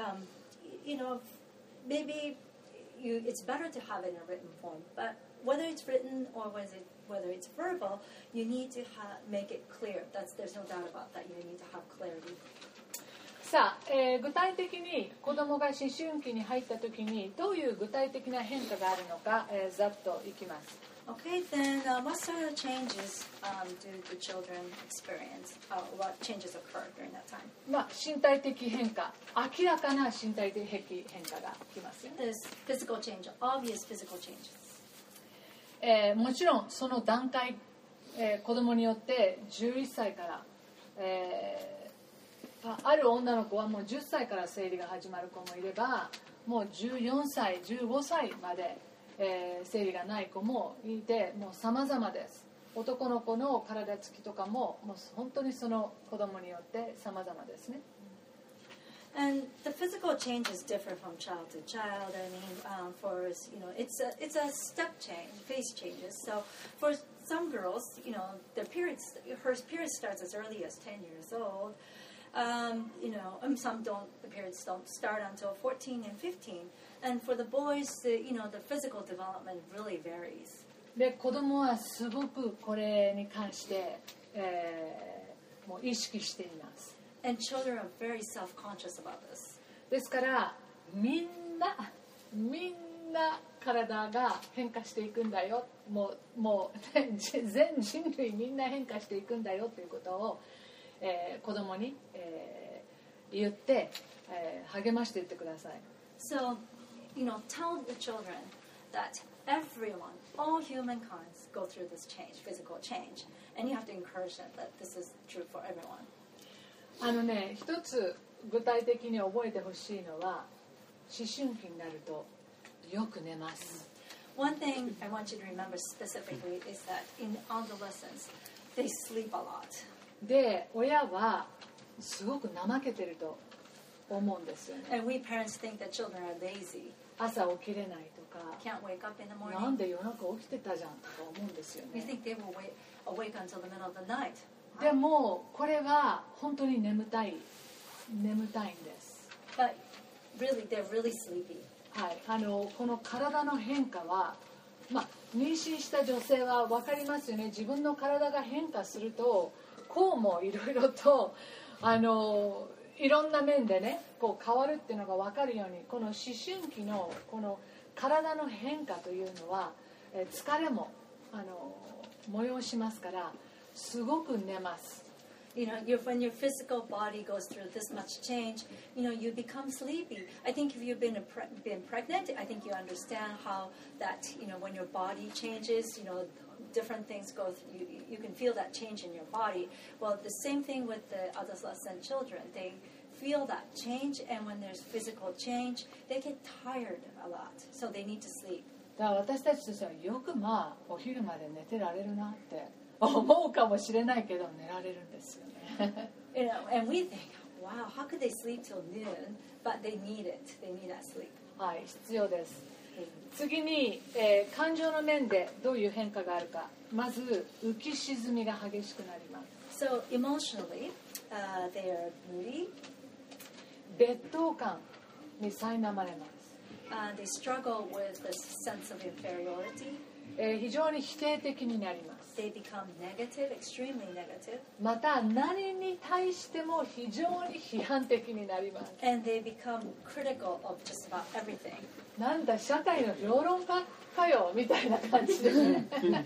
maybe it's better to have it in a written form, but whether it's written or whether it's verbal, you need to make it clear. There's no doubt about that. You need to have clarity. さあ、具体的に子どもが思春期に入った時にどういう具体的な変化があるのか、ざっといきます。 Okay, then what sort of changes do the children experience? What changes occur during that time? 身体的変化、明らかな身体的変化がきますよね。 There's physical change, obvious physical changes. もちろんその段階、子どもによって11歳から、ある女の子はもう10歳から生理が始まる子もいれば、もう14歳、15歳まで、生理がない子もいて、もう様々です。男の子の体つきとかも、もう本当にその子供によって様々ですね。 And the physical changes differ from child to child. I mean, it's a step change, phase changes. So for some girls, her period starts as early as 10 years old. The periods don't start until 14 and 15. And for the boys, the physical development really varies. で、子供はすごくこれに関して、もう意識しています。 And children are very self-conscious about this. ですからみんな体が変化していくんだよ。もう全人類みんな変化していくんだよということを、子供に、言って、励ましていってください。 So, tell the children that everyone, all humankind, go through this change, physical change, and you have to encourage them that this is true for everyone. 一つ具体的に覚えてほしいのは、思春期になるとよく寝ます。 One thing I want you to remember specifically is that in adolescence, they sleep a lot. で、親はすごく怠けてると思うんですよね。 And we parents think that children are lazy, 朝起きれないとか、 can't wake up in the なん morning. で夜中起きてたじゃんとか思うんですよ We ね。 think they will awake until the middle of the night. でもこれは本当に眠たいんです。 But really, they're really sleepy. はい、この体の変化は、妊娠した女性は分かりますよね。自分の体が変化するとこうもいろいろといろんな面でねこう変わるっていうのが分かるように、この思春期のこの体の変化というのは疲れも催しますからすごく寝ます。 You know, when your physical body goes through this much change, you become sleepy. I think if you've been pregnant, I think you understand how that, when your body changes, different things go through, you can feel that change in your body. Well, the same thing with the adolescent children. They feel that change, and when there's physical change, they get tired a lot, so they need to sleep. だから私たちとしてはよくお昼まで寝てられるなって思うかもしれないけど寝られるんですよね。 And we think, wow, how could they sleep till noon? But they need it. They need that sleep. はい、必要です。次に、感情の面でどういう変化があるか。まず浮き沈みが激しくなります。 So emotionally, they are moody. 劣等感に苛まれます。 They struggle with the sense of inferiority. 非常に否定的になります。 They become negative, extremely negative. また何に対しても非常に批判的になります。 And they become critical of just about everything. なんだ社会の評論家かよみたいな感じですね。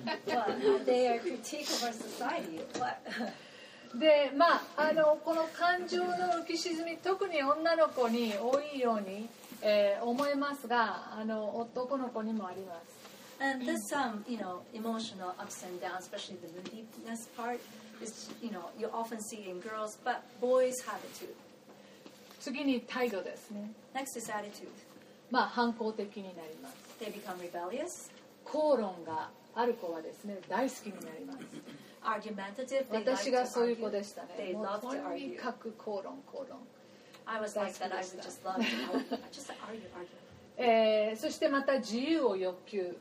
Well, they are a critique of our society. What? でこの感情の浮き沈み、特に女の子に多いように、思いますが男の子にもあります。 And this emotional ups and downs, especially the moodiness part, is you often see in girls, but boys have it too. 次に態度ですね。 Next is attitude. 反抗的になります。 They become rebellious, 口論がある子はですね大好きになります。 argumentative. They like 私が to そういう argue. 子でしたね。 They もう love と to に argue. かく口論。 I was like that. I would just love to argue. Just argue. そしてまた自由を要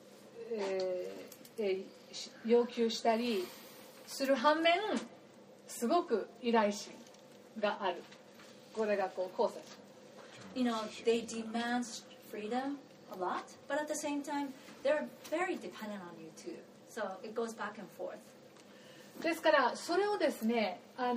求したりする反面すごく依頼心がある。これが交差します。 They demand freedom a lot, but at the same time, they're very dependent on you too. So it goes back and forth. ですからそれをですね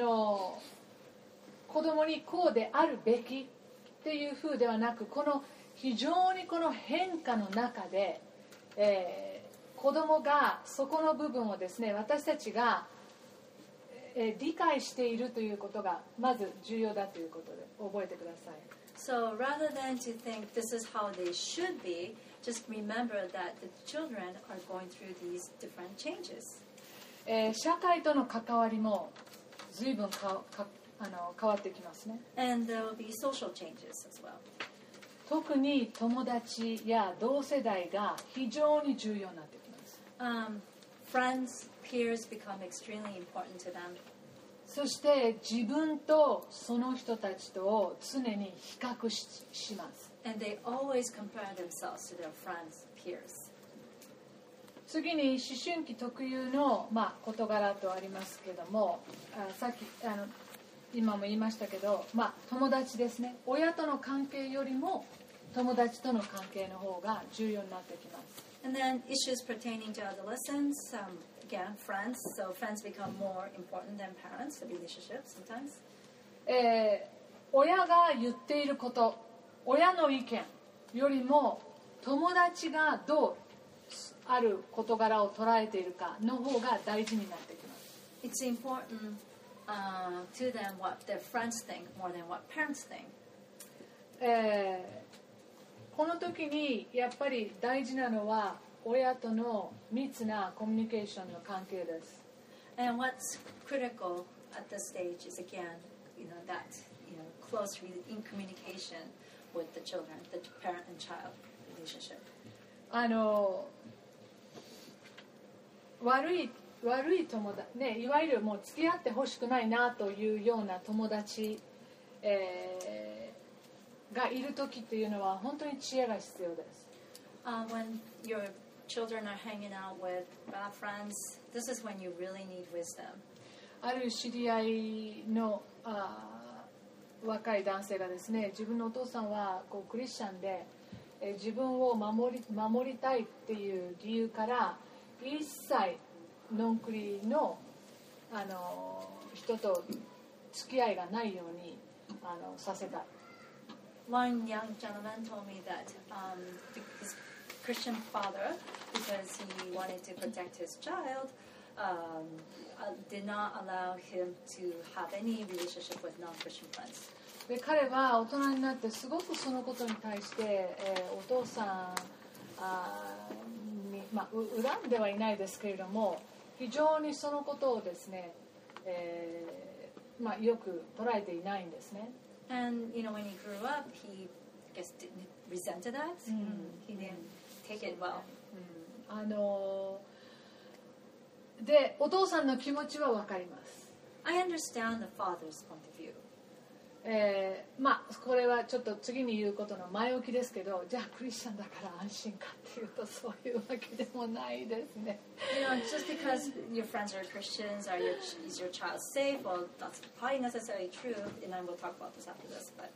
子供にこうであるべきっていう風ではなく、この非常にこの変化の中で、子供がそこの部分をですね私たちが、理解しているということがまず重要だということで覚えてください。 So rather than to think this is how they should be, just remember that the children are going through these different changes. 社会との関わりも随分変わってきますね。 And there will be social changes as well. 特に友達や同世代が非常に重要になってきます。 Friends, peers become extremely important to them. そして自分とその人たちとを常に比較します。 And they always compare themselves to their friends, peers. 次に思春期特有の、事柄とありますけども、さっき今も言いましたけど、友達ですね。親との関係よりも友達との関係の方が重要になってきます。 And then issues pertaining to adolescents, again, friends. So friends become more important than parents, the relationship sometimes. 親が言っていること、親の意見よりも友達がどうある事柄を捉えているかの方が大事になってきます。 It's important to them what their friends think more than what parents think. この時にやっぱり大事なのは親との密なコミュニケーションの関係です。 And what's critical at this stage is again, that close in communication with the children, the parent and child relationship. 悪い友達ね、いわゆるもう付き合ってほしくないなというような友達、 がいる時っていうのは本当に知恵が必要です。 When your children are hanging out with bad friends, this is when you really need wisdom. ある知り合いの若い男性がですね、自分のお父さんはこうクリスチャンで、自分を守りたいっていう理由から一切ノンクリの、人と付き合いがないようにさせた。 One young gentleman told me that his Christian father, because he wanted to protect his child, did not allow him to have any relationship with non-Christian friends. で彼は大人になってすごくそのことに対して、お父さんに、恨んではいないですけれども、非常にそのことをですね、よく捉えていないんですね。 And when he grew up, he resented that. He didn't take it well. で、お父さんの気持ちは分かります。 I understand the father's point of view. これはちょっと次に言うことの前置きですけど、じゃあクリスチャンだから安心かっていうとそういうわけでもないですね。 Just because your friends are Christians, is your child safe? Well, that's probably necessarily true, and I will talk about this after this. But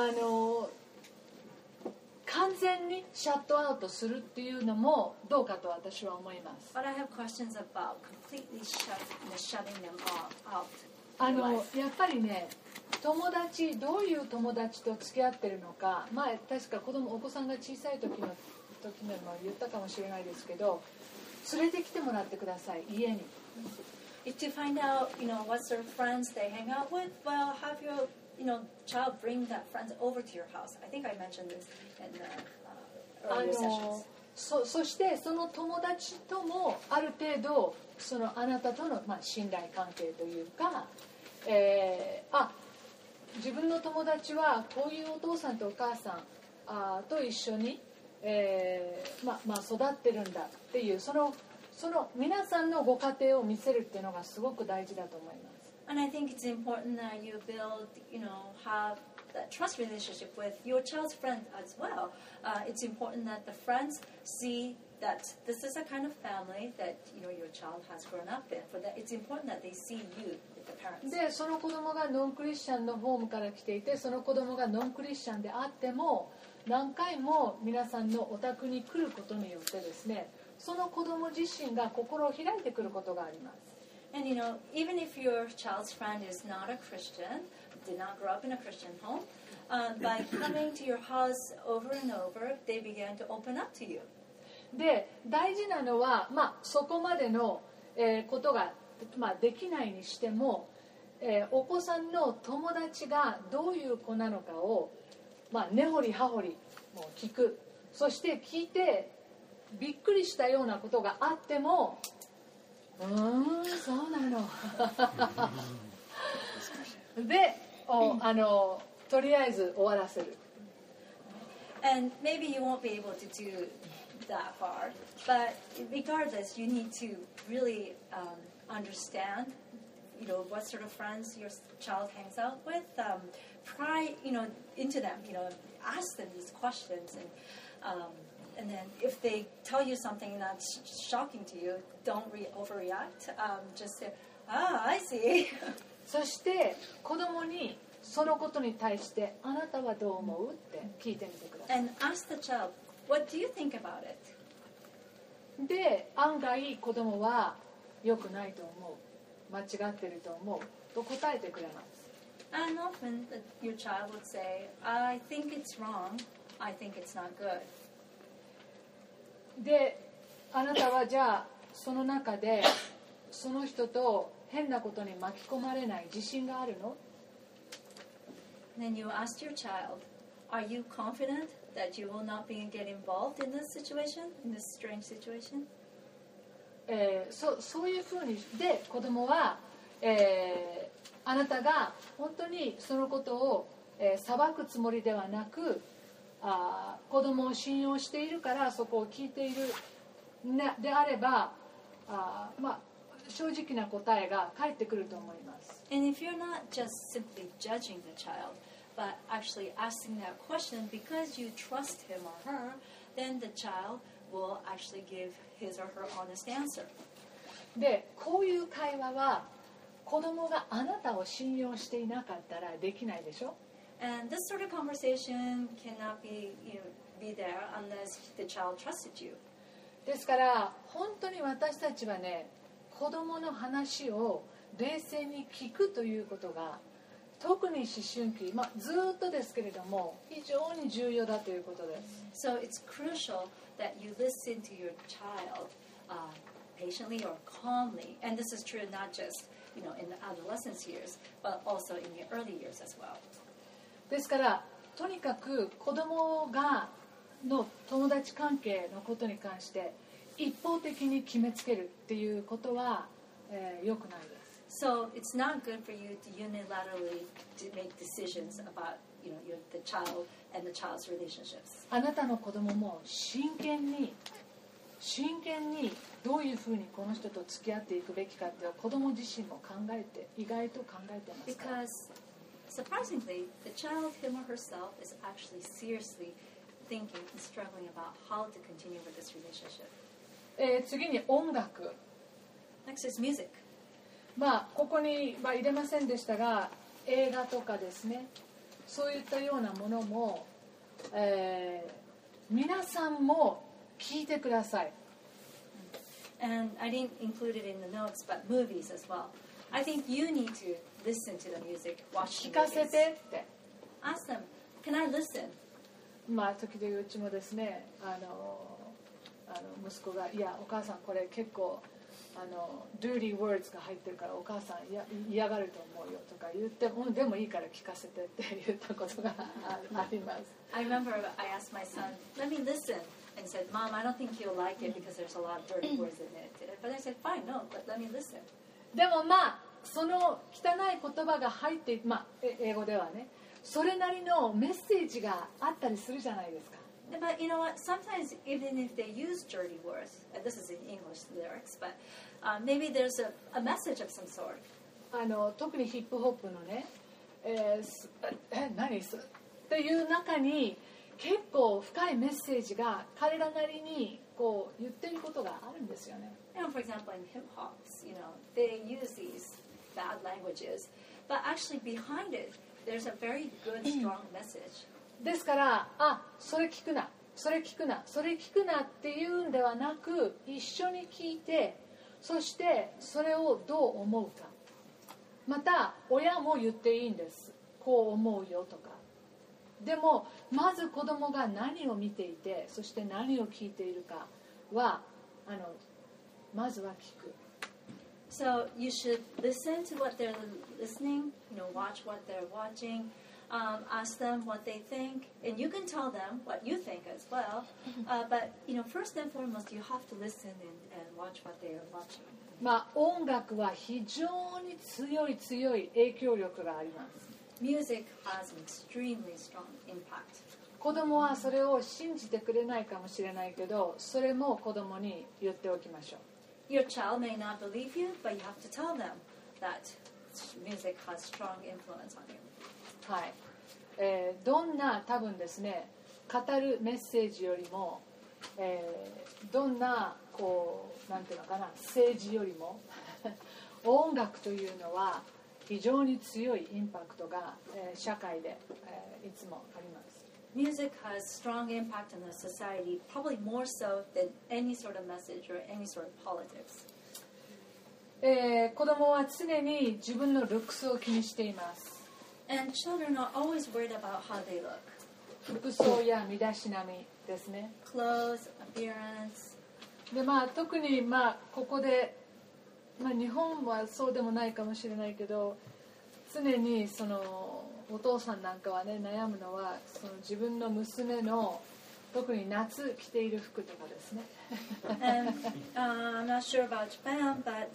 完全にシャットアウトするっていうのもどうかと私は思います。 But I have questions about completely shutting them out. やっぱりね、友達、どういう友達と付き合ってるのか、前確かお子さんが小さい時のも言ったかもしれないですけど、連れてきてもらってください、家に。 To find out, what sort of friends they hang out with, well, have your, child bring that friends over to your house. I think I mentioned this in the earlier sessions. そしてその友達ともある程度あなたとの、信頼関係というか、自分の友達はこういうお父さんとお母さんと一緒に、育ってるんだっていうその皆さんのご家庭を見せるっていうのがすごく大事だと思います。 And I think it's important that you build, have that trust relationship with your child's friends as well. It's important that the friends see that this is a kind of family that your child has grown up in. For that, it's important that they see you with the parents. で、その子供がノンクリスチャンのホームから来ていて、その子供がノンクリスチャンであっても、何回も皆さんのお宅に来ることによってですね、その子供自身が心を開いてくることがあります。 And even if your child's friend is not a Christian, did not grow up in a Christian home, by coming to your house over and over, they began to open up to you. で、大事なのは、そこまでの、ことが、できないにしても、お子さんの友達がどういう子なのかを、根掘り葉掘りもう聞く。そして聞いてびっくりしたようなことがあっても、そうなので、とりあえず終わらせる。 And maybe you won't be able to do that far, but regardless, you need to really understand, what sort of friends your child hangs out with. Pry, into them. Ask them these questions, and then if they tell you something that's shocking to you, don't overreact. Just say, I see. そして子供にそのことに対してあなたはどう思うって聞いてみてください。 And ask the child, what do you think about it? で、案外子供は良くないと思う、間違ってると思うと答えてくれます。 And often your child would say, I think it's wrong, I think it's not good. で、あなたはじゃあその中でその人と変なことに巻き込まれない自信があるの？ Then you ask your child, are you confident that you will not get involved in this situation, in this strange situation? そういうふうにで子供は、あなたが本当にそのことを、裁くつもりではなく、子供を信用しているからそこを聞いている、であれば、正直な答えが返ってくると思います。 And if you're not just simply judging the child, but actually asking that question because you trust him or her, then the child will actually give his or her honest answer. で、こういう会話は子供があなたを信用していなかったらできないでしょ。 And this sort of conversation cannot be there unless the child trusted you. ですから本当に私たちはね、子供の話を冷静に聞くということが特に思春期、ずっとですけれども非常に重要だということです。 So it's crucial that you listen to your child patiently or calmly, and this is true not just in the adolescence years, but also in the early years as well. ですからとにかく子供がの友達関係のことに関して一方的に決めつけるっていうことは、良くないです。 So it's not good for you to unilaterally to make decisions about the child and the child's relationships. あなたの子供も真剣にどういうふうにこの人と付き合っていくべきかっていう子供自身も意外と考えてますから。 Because surprisingly, the child, him or herself, is actually seriously thinking and struggling about how to continue with this relationship. 次に音楽。 Next is music. ここには入れませんでしたが、映画とかですね、そういったようなものも、皆さんも聞いてください。 And I didn't include it in the notes, but movies as well. I think you need to listen to the music, watch the 聞かせ movies. てって。 Ask them, can I listen? 時々うちもですね、息子がいやお母さんこれ結構dirty words が入ってるからお母さん嫌がると思うよとか言ってもでもいいから聞かせてって言ったことがあります。 I remember I asked my son, let me listen, and said, Mom, I don't think you'll like it because there's a lot of dirty words in it. But I said, fine, no, but let me listen. でもその汚い言葉が入って英語ではね、それなりのメッセージがあったりするじゃないですか。 But you know what? Sometimes even if they use dirty words, and this is in English lyrics, but maybe there's a message of some sort. 特にヒップホップのね、何っていう中に結構深いメッセージが彼らなりにこう言ってることがあるんですよね。 For example, in hip hops, they use these bad languages, but actually behind it, there's a very good, strong message. ですからそれ聞くなそれ聞くなそれ聞くなっていうんではなく一緒に聞いてそしてそれをどう思うかまた親も言っていいんですこう思うよとかでもまず子供が何を見ていてそして何を聞いているかはまずは聞く So you should listen to what they're listening, watch what they're watching, ask them what they think, and you can tell them what you think as well. But first and foremost, you have to listen and watch what they are watching. 音楽は非常に強い影響力があります。 Music has an extremely strong impact. 子供はそれを信じてくれないかもしれないけど、それも子供に言っておきましょう。 Your child may not believe you, but you have to tell them that music has strong influence on you. はい。どんな多分ですね、語るメッセージよりも、どんななんていうのかな、政治よりも音楽というのは非常に強いインパクトが、社会で、いつもあります。 Music has strong impact on the society, probably more so than any sort of message or any sort of politics. 子供は常に自分のルックスを気にしています。 And children are always worried about how they look. 服装や身だしなみですね。 Clothes, appearance. で特にここで、日本はそうでもないかもしれないけど常にお父さんなんかはね悩むのは自分の娘の特に夏着ている服とかですね。 And I'm not sure about Japan, but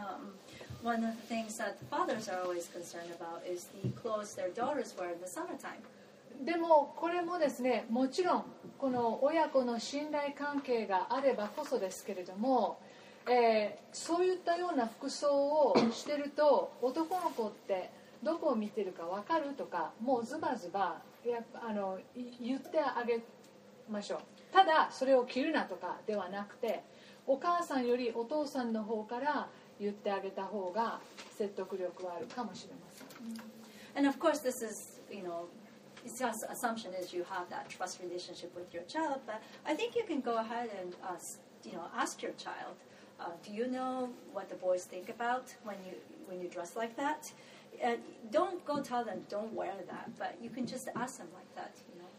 one of the things that fathers are always concerned about is the clothes their daughters wear in the summertime. でもこれもですねもちろんこの親子の信頼関係があればこそですけれども、そういったような服装をしてると男の子ってどこを見てるか分かるとかもうズバズバ言ってあげましょう。ただそれを切るなとかではなくて、お母さんよりお父さんの方から言ってあげた方が説得力はあるかもしれません。 And of course, this is, it's just assumption is you have that trust relationship with your child, but I think you can go ahead and, ask your child, do you know what the boys think about when you dress like that? And don't go tell them don't wear that, but you can just ask them like that,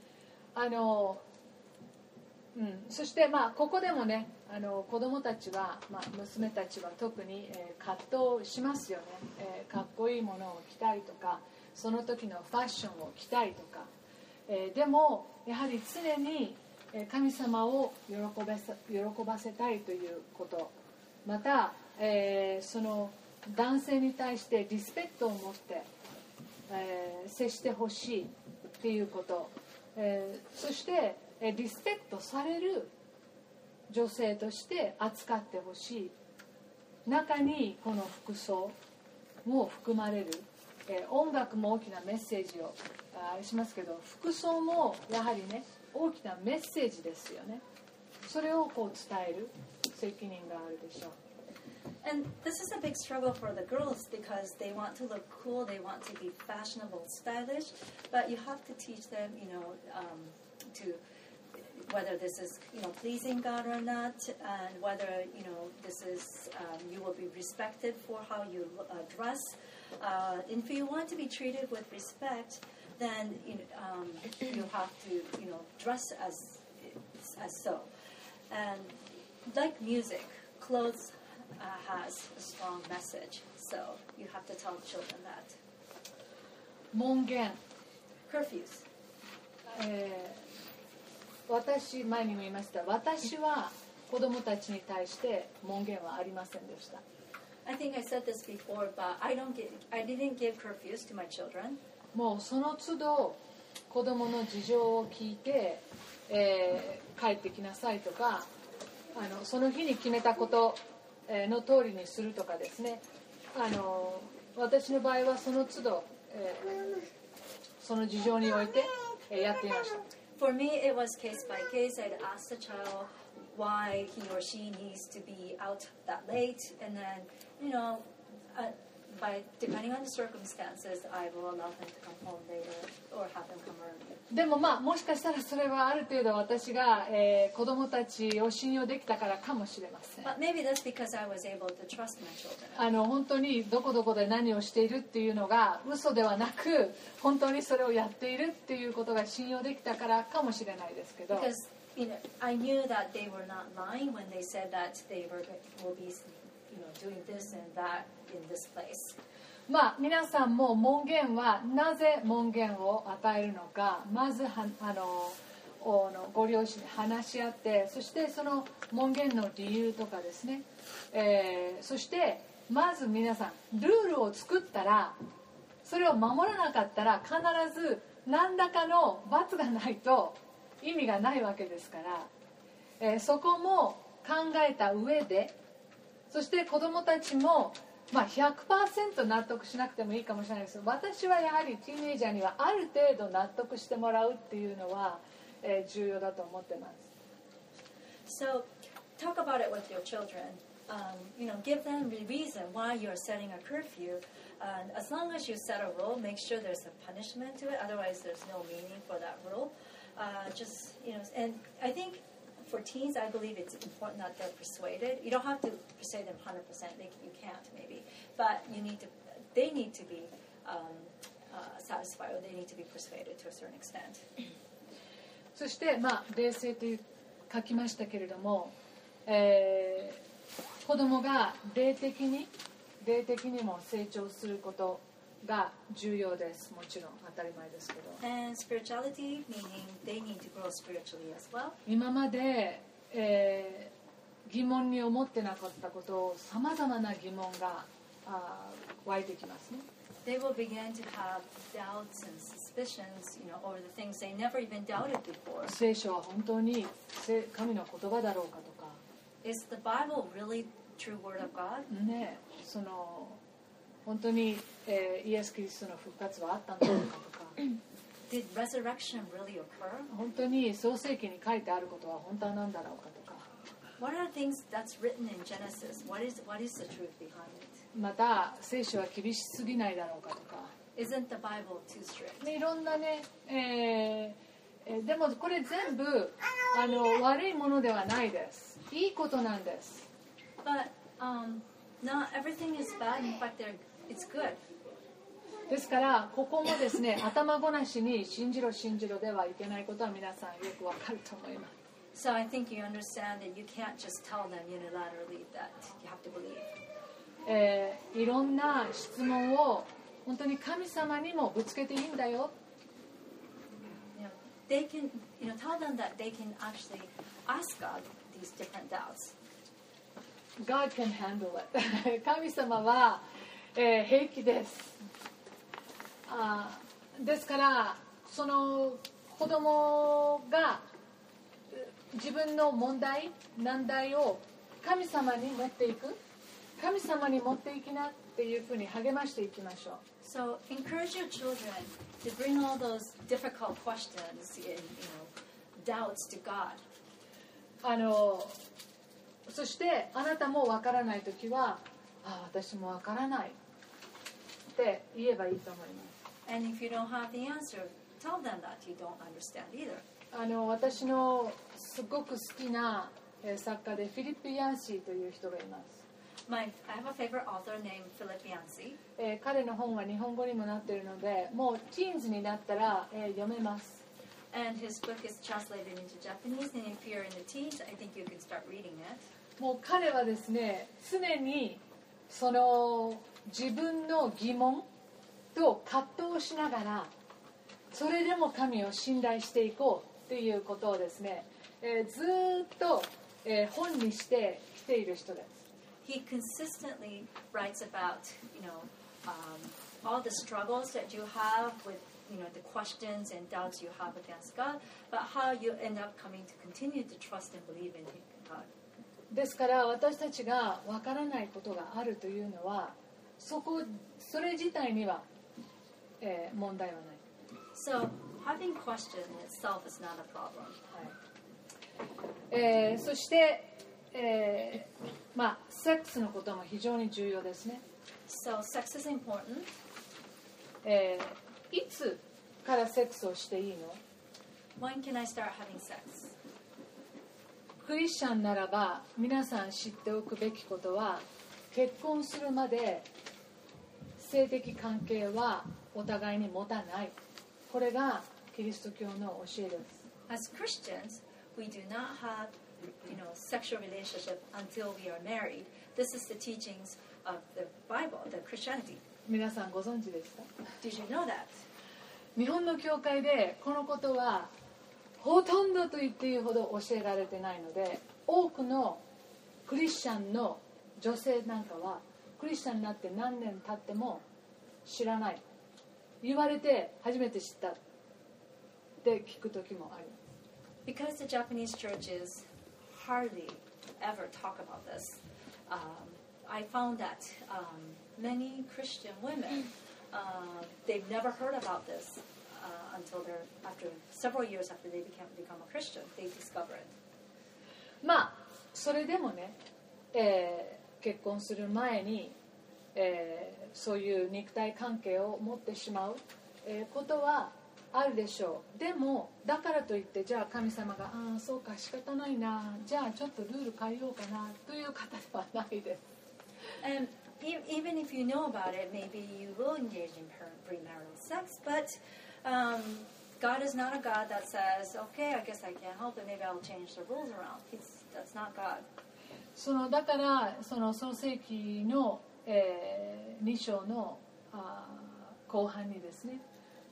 そしてここでもね子供たちは、娘たちは特に、葛藤しますよね、かっこいいものを着たいとかその時のファッションを着たいとか、でもやはり常に神様を喜ばせたいということ、また、その男性に対してリスペクトを持って、接してほしいっていうこと、そしてリスペクトされる女性として扱ってほしい。中にこの服装も含まれる、音楽も大きなメッセージをしますけど、服装もやはりね大きなメッセージですよね。それをこう伝える責任があるでしょう。 And this is a big struggle for the girls because they want to look cool, they want to be fashionable, stylish, but you have to teach them, to whether this is pleasing God or not, and whether this is you will be respected for how you dress. And if you want to be treated with respect, then you have to dress as so. And like music, clothes has a strong message, so you have to tell children that. 門限 Curfews. 私前にも言いました。私は子供たちに対して門限はありませんでした。 I think I said this before, but I didn't give curfews to my children. もうその都度子供の事情を聞いて、帰ってきなさいとか、その日に決めたことの通りにするとかですね。私の場合はその都度、その事情において、やっていました。 For me, it was case by case. I'd ask the child why he or she needs to be out that late, and then, depending on the circumstances, I will allow them to come home later or have them come early. でももしかしたらそれはある程度私が、子供たちを信用できたからかもしれません。 But maybe that's because I was able to trust my children. 本当にどこどこで何をしているっていうのが嘘ではなく、本当にそれをやっているっていうことが信用できたからかもしれないですけど。 Because I knew that they were not lying when they said that they will be, doing this and that in this place. 皆さんも門限はなぜ門限を与えるのか、まずご両親で話し合って、そしてその門限の理由とかですね、そしてまず皆さんルールを作ったら、それを守らなかったら必ず何らかの罰がないと意味がないわけですから、そこも考えた上で、そして子どもたちも100% 納得しなくてもいいかもしれないですけど、私はやはりティーンエイジャーにはある程度納得してもらうっていうのは、重要だと思ってます。 So talk about it with your children. Give them the reason why you're setting a curfew. And as long as you set a rule, make sure there's a punishment to it. Otherwise, there's no meaning for that rule. And I think for teens, I believe it's important that they're persuaded. You don't have to persuade them 100%. You can't, maybe. But they need to be satisfied, or they need to be persuaded to a certain extent. そして冷静と書きましたけれども、子供が霊的にも成長することが重要です。もちろん当たり前ですけど。 And spirituality, meaning they need to grow spiritually as well. 今まで、疑問に思ってなかったことをさまざまな疑問が湧いてきますね。 They will begin to have doubts and suspicions, over the things they never even doubted before. 聖書は本当に神の言葉だろうかとか。 Is the Bible really true word of God? ね、本当にイエス・キリストの復活はあったのかとか Did resurrection really occur? 本当に創世記に書いてあることは本当は何だろうかとか What are things that's written in Genesis? What is the truth behind it? また聖書は厳しすぎないだろうかとか Isn't the Bible too strict? いろんなね、でもこれ全部悪いものではないです。いいことなんです。 But not everything is bad. In fact, it's good. ですからここもですね頭ごなしに信じろ信じろではいけないことは皆さんよくわかると思います。 So I think you understand that you can't just tell them unilaterally that you have to believe. いろんな質問を本当に神様にもぶつけていいんだよ。 They can, tell them that they can actually ask God these different doubts. God can handle it. 神様は、平気です。ですからその子供が自分の問題難題を神様に持っていく、神様に持っていきなっていうふうに励ましていきましょう。 So encourage your children to bring all those difficult questions, doubts to God. そしてあなたもわからないときは、私もわからないって言えばいいと思います。 And if you don't have the answer, tell them that you don't understand either. 私のすごく好きな作家でフィリップ・ヤンシーという人がいます。 I have a favorite author named Philip Yancey. 彼の本は日本語にもなっているので、もうティーンズになったら、読めます。 And his book is translated into Japanese, and if you're in the teens, I think you can start reading it. もう彼はですね、常にその自分の疑問と葛藤しながら、それでも神を信頼していこうということをですね、ずっと、本にしてきている人です。 He consistently writes about, all the struggles that you have with, the questions and doubts you have against God, but how you end up coming to continue to trust and believe in God. ですから私たちがわからないことがあるというのは、それ自体には、問題はない。 So having question itself is not a problem. はい。そして、セックスのことも非常に重要ですね。 So sex is important. いつからセックスをしていいの？ When can I start having sex? クリスチャンならば皆さん知っておくべきことは、結婚するまで性的関係はお互いに持たない。これがキリスト教の教えです。 As Christians, we do not have, sexual relationship until we are married. This is the teachings of the Bible, the Christianity. 皆さんご存知でした？ Did you know that? 日本の教会でこのことはほとんどと言っていいほど教えられてないので、多くのクリスチャンの女性なんかはクリスチャンになって何年経っても知らない、言われて初めて知ったって聞く時もあります。 Because the Japanese churches hardly ever talk about this, I found that many Christian women, they've never heard about this until after several years after they become a Christian, they discover it. それでもね、結婚する前に、そういう肉体関係を持ってしまう、ことはあるでしょう。でもだからといってじゃあ神様がそうか仕方ないな、じゃあちょっとルール変えようかなという方ではないです。 And even if you know about it, maybe you will engage in premarital sex, but God is not a God that says, okay, I guess I can't help it, maybe I'll change the rules around. That's not God. だから創世記の、2章の後半にですね、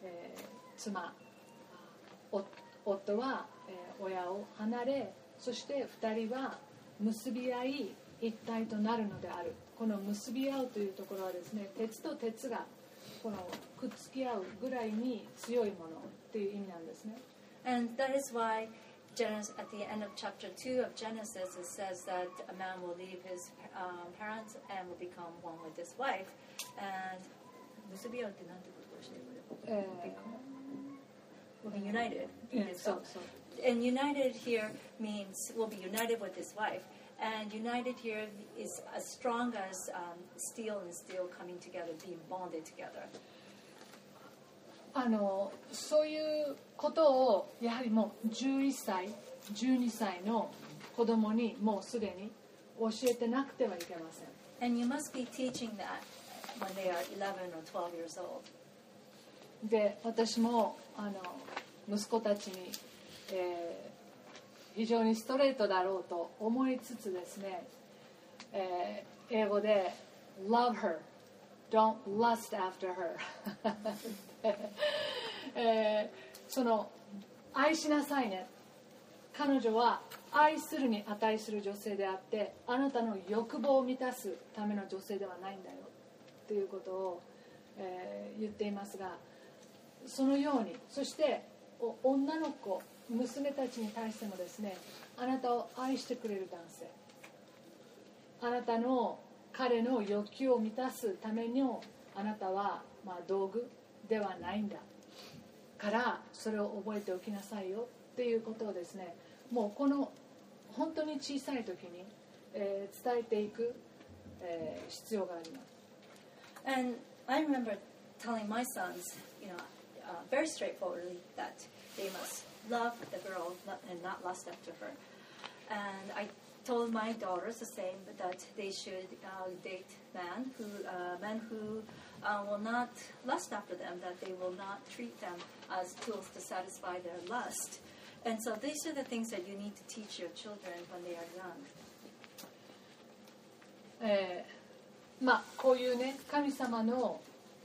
夫は、親を離れ、そして2人は結び合い一体となるのである。この結び合うというところはですね、鉄と鉄がこのくっつき合うぐらいに強いものという意味なんですね。 And that is why at the end of chapter 2 of Genesis, it says that a man will leave his parents and will become one with his wife. And 結び合うってなんてことをしてるwill be united. いいですか？ そう。 And united here means will be united with his wife. And united here is as strong as steel and steel coming together, being bonded together. そういうことをやはりもう11歳、12歳の子供にもうすでに教えてなくてはいけません。 And you must be teaching that when they are 11 or 12 years old. で、私も息子たちに、非常にストレートだろうと思いつつですね、英語で Love her, don't lust after her その愛しなさいね、彼女は愛するに値する女性であってあなたの欲望を満たすための女性ではないんだよということを、言っていますが、そのように、そして女の子、娘たちに対してもですね、あなたを愛してくれる男性、あなたの彼の欲求を満たすためのあなたは、道具ではないんだからそれを覚えておきなさいよっていうことをですね、もうこの本当に小さい時に、伝えていく、必要があります。 And I remember telling my sons, very straightforwardly that they must love the girl and not lust after her. And I told my daughters the same, that they should date men who will not lust after them, that they will not treat them as tools to satisfy their lust. And so these are the things that you need to teach your children when they are young. こういうね、神様の、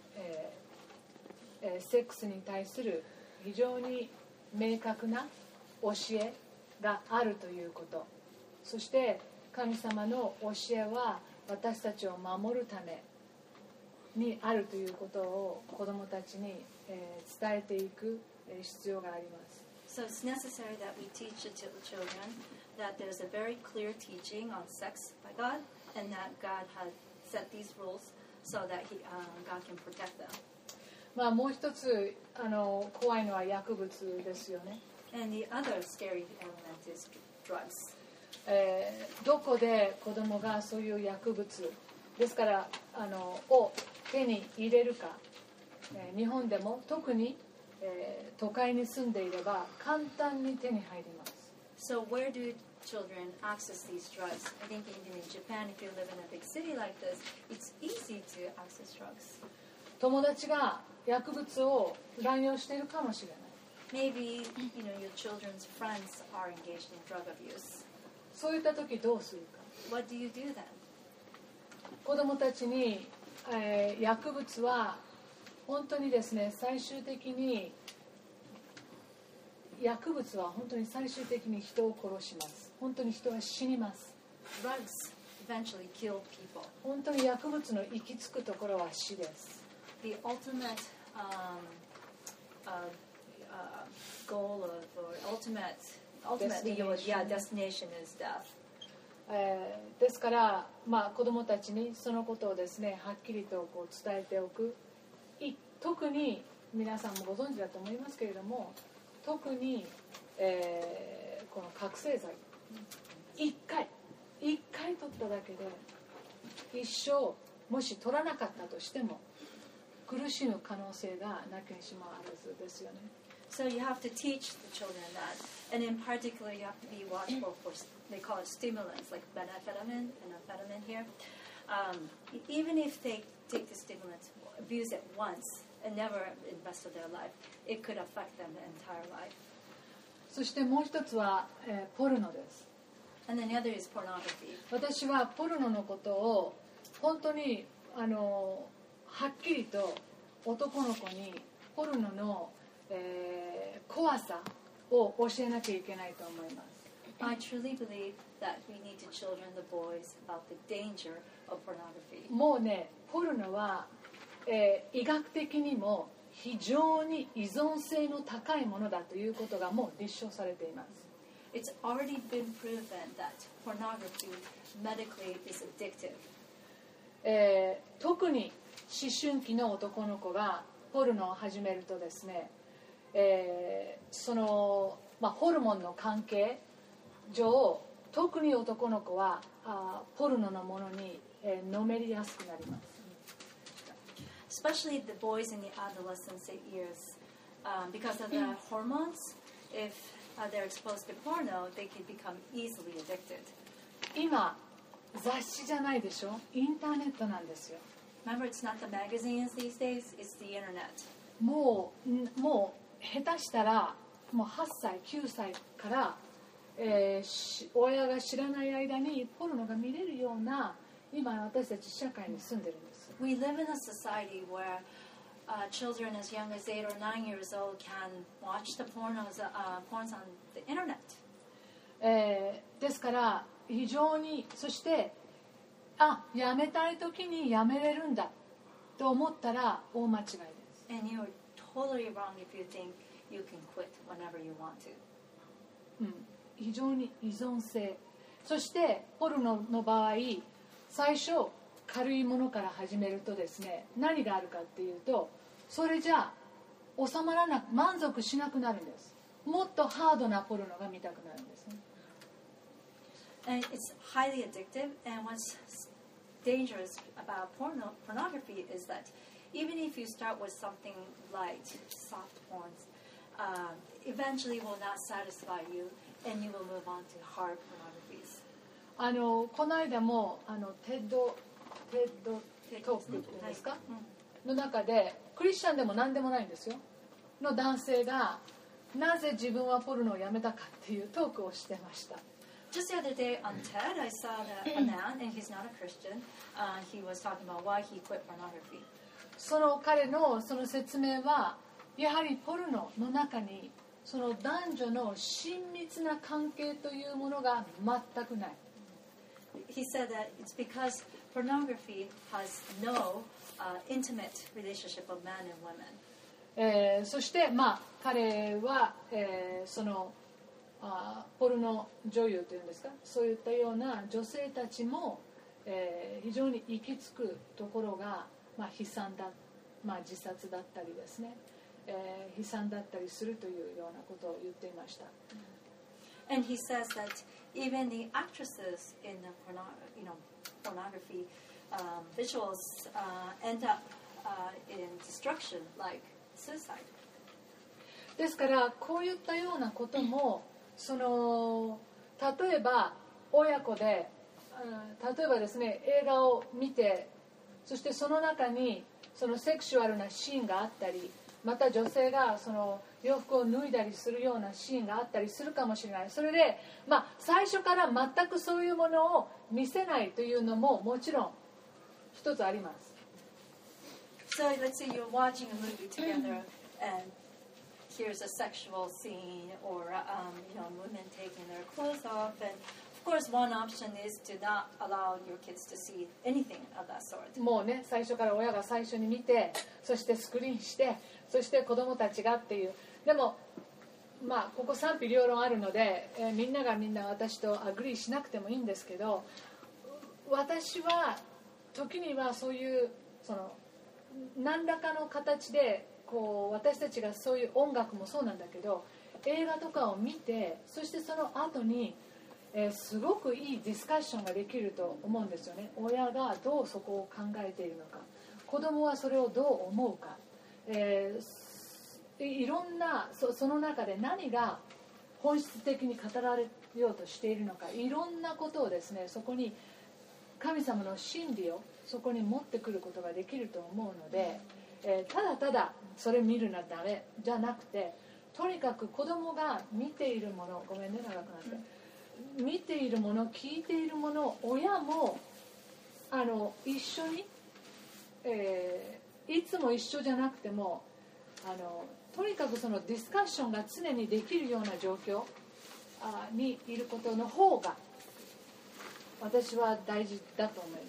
セックスに対する非常に明確な教えがあるということ、そして神様の教えは私たちを守るためにあるということを子どもたちに、伝えていく必要があります。 So it's necessary that we teach the children that there's a very clear teaching on sex by God, and that God has set these rules so that God can protect them. もう一つ怖いのは薬物ですよね。 And the other scary element is drugs. どこで子供がそういう薬物ですからを手に入れるか、日本でも特に、都会に住んでいれば簡単に手に入ります。 So where do children access these drugs? I think even in Japan, if you live in a big city like this, it's easy to access drugs. 友達が薬物を乱用しているかもしれない。 Maybe your children's friends are engaged in drug abuse. そういった時どうするか。 What do you do then? 子供たちに、薬物は本当にですね、最終的に薬物は本当に最終的に人を殺します。本当に人は死にます。 Drugs eventually kill people. 本当に薬物の行き着くところは死です。 The ultimate goal or ultimately destination is death. ですから、子どもたちにそのことをですね、はっきりと伝えておく。特に皆さんもご存知だと思いますけれども、特に、この覚醒剤1回取っただけで一生もし取らなかったとしても苦しむ可能性がなきにしもあらずですよね。 So you have to teach the children that, and in particular you have to be watchful for, they call it stimulants like methamphetamine and amphetamine here. Even if they take the stimulants, abuse it once and never in the rest of their life, it could affect them the entire life. そしてもう一つは、ポルノです。 And then the other is pornography. 私はポルノのことを本当にはっきりと男の子にポルノの、怖さを教えなきゃいけないと思います。 I truly believe that we need to children, the boys, about the danger of pornography. もうね、ポルノは、医学的にも非常に依存性の高いものだということがもう立証されています。 It's already been proven that pornography medically is addictive. 特に春期の男の子がポルノを始めるとですね、ホルモンの関係上、特に男の子はポルノのものに、のめりやすくなります。 Especially the boys in the adolescent years, because of the hormones, if they're exposed to porno, they can become easily addicted. 今雑誌じゃないでしょ、インターネットなんですよ。 Remember, it's not the magazines these days, it's the internet. もう下手したらもう8歳9歳から、親が知らない間にポルノが見れるような今私たち社会に住んでるんです。 We live in a society where children as young as 8 or 9 years old can watch the porns on the internet. ですから非常に、そしてやめたい時にやめれるんだと思ったら大間違いです。 And you're totally wrong if you think you can quit whenever you want to. 非常に依存性、そしてポルノの場合最初軽いものから始めるとですね、何があるかっていうと、それじゃ収まらなく、満足しなくなるんです。もっとハードなポルノが見たくなるんですね。 And it's highly addictive, and what's dangerous about pornography is that even if you start with something light, soft porns, eventually will not satisfy you, and you will move on to hard pornographies. この間もテッドトークっていうんですか、の中でクリスチャンでも何でもないんですよの男性がなぜ自分はポルノをやめたかっていうトークをしてました。 Just the other day on TED, I saw a man, and he's not a Christian. He was talking about why he quit pornography. その彼のその説明は、やはりポルノの中にその男女の親密な関係というものが全くない。 He said that it's because pornography has no intimate relationship of man and women. そして彼は、そのポルノ女優というんですか、そういったような女性たちも、非常に行き着くところが、悲惨だ、自殺だったりですね、悲惨だったりするというようなことを言っていました。 And he says that even the actresses in the pornography visuals end up in destruction, like suicide. ですからこういったようなことも、例えば親子で、例えばですね、映画を見て、そしてその中にそのセクシュアルなシーンがあったり、また女性がその洋服を脱いだりするようなシーンがあったりするかもしれない。それで、最初から全くそういうものを見せないというのももちろん一つあります。 So let's say you're watching a movie together and here's a sexual scene or women taking their clothes off, and of course one option is to not allow your kids to see anything of that sort. もうね、最初から親が最初に見て、そしてスクリーンして、そして子供たちがっていう。でもここ賛否両論あるので、みんながみんな私とアグリーしなくてもいいんですけど、私は時にはそういう何らかの形で私たちがそういう音楽もそうなんだけど、映画とかを見て、そしてその後に、すごくいいディスカッションができると思うんですよね。親がどうそこを考えているのか、子供はそれをどう思うか、いろんな その中で何が本質的に語られようとしているのか、いろんなことをですね、そこに神様の真理をそこに持ってくることができると思うので、ただただそれ見るのはダメじゃなくて、とにかく子供が見ているもの、ごめんね長くなって、見ているもの、聞いているもの、親も一緒に、いつも一緒じゃなくてもとにかくそのディスカッションが常にできるような状況にいることの方が私は大事だと思います。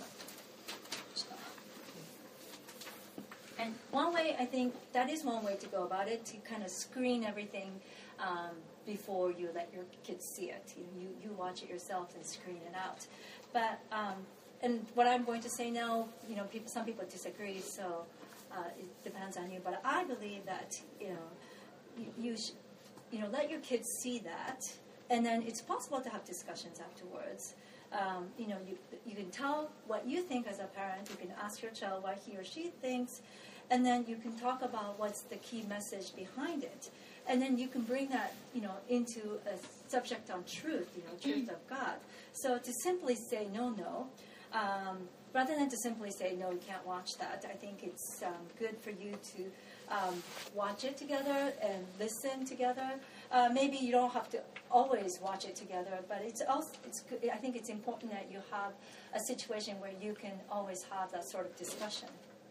And one way, I think that is one way to go about it, to kind of screen everything before you let your kids see it. You watch it yourself and screen it out. But and what I'm going to say now, some people disagree, so it depends on you. But I believe that you let your kids see that, and then it's possible to have discussions afterwards. You can tell what you think as a parent. You can ask your child what he or she thinks, and then you can talk about what's the key message behind it. And then you can bring that, into a subject on truth, truth of God. So to simply say no, rather than to simply say, no, you can't watch that, I think it's good for you to watch it together and listen together. Maybe you don't have to always watch it together, but it's good. I think it's important that you have a situation where you can always have that sort of discussion.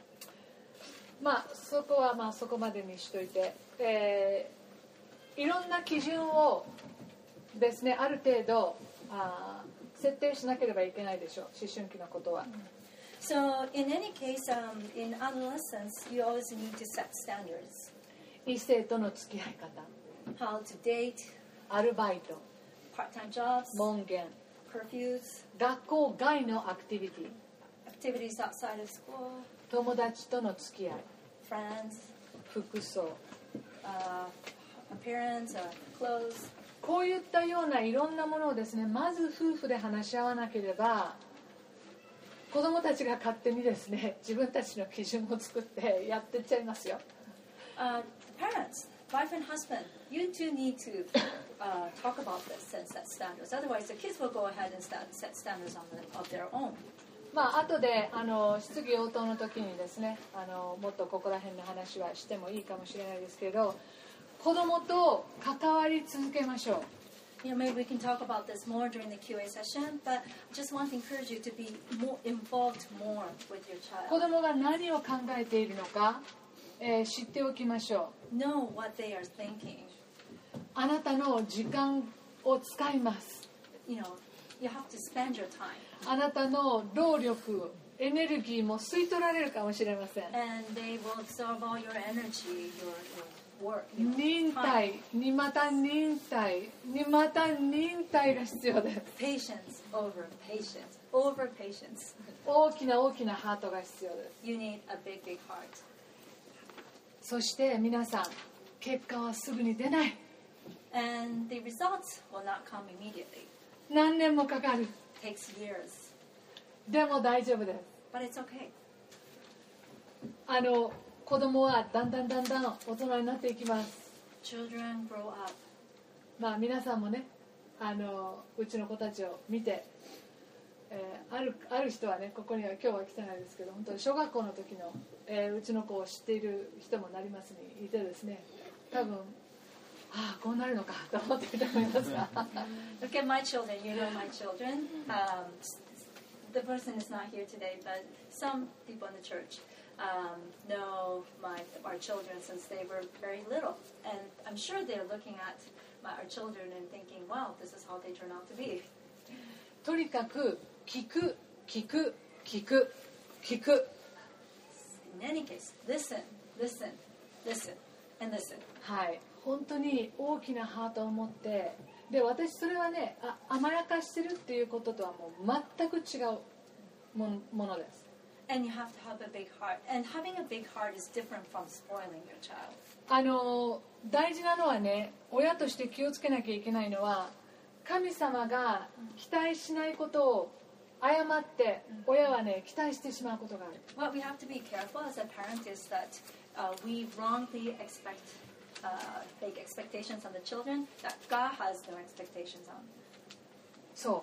そこはそこまでにしといて、いろんな基準をですね、ある程度設定しなければいけないでしょう、思春期のことは。 So in any case, in adolescence, you always need to set standards. 異性との付き合い方、 How to date, アルバイト、 part-time jobs, 門限、 curfews, 学校外のアクティビティ、 activities outside of school, 友達との付き合い、 friends, 服装、 appearance, clothes. こういったようないろんなものをですね、まず夫婦で話し合わなければ、子供たちが勝手にですね、自分たちの基準を作ってやってっちゃいますよ。 Parents, wife and husband, you two need to talk about this and set standards. Otherwise, the kids will go ahead and set standards of their own. 後で質疑応答の時にですね、もっとここら辺の話はしてもいいかもしれないですけど、子供と関わり続けましょう。 Maybe we can talk about this more during the QA session, but I just want to encourage you to be more involved more with your child. 子供が何を考えているのか、知っておきましょう。 Know what they are thinking. あなたの時間を使います。 You have to spend your time. あなたの労力、エネルギーも吸い取られるかもしれません。 And they will absorb all your energy, your work. 忍耐にまた忍耐にまた忍耐が必要です。 Patience over patience. Over patience. 大きな大きなハートが必要です。 You need a big, big heart. そして皆さん、結果はすぐに出ない。 And the results will not come immediately. 何年もかかる。 It takes years. でも大丈夫です。 But it's okay. 子供はだんだん大人になっていきます。 Children grow up. 皆さんもね、うちの子たちを見て、ある人はね、ここには今日は来てないですけど、本当に小学校の時の、うちの子を知っている人もなりますにいてですね、多分こうなるのかと思っていると思いますが。 Look at my children. You know my children. The person is not here today, but some people in the church know our children since they were very little, and I'm sure they're looking at our children and thinking, "Wow, this is how they turn out to be." とにかく聞く。 In any case, listen, and listen. はい、本当に大きなハートを持って、で私それはね、甘やかしてるっていうこととはもう全く違うものです。 And you have to have a big heart. And having a big heart is different from spoiling your child. 大事なのはね、親として気をつけなきゃいけないのは、神様が期待しないことを誤って親はね、期待してしまうことがある。 What we have to be careful as a parent is that we wrongly expect big expectations on the children that God has no expectations on. そう。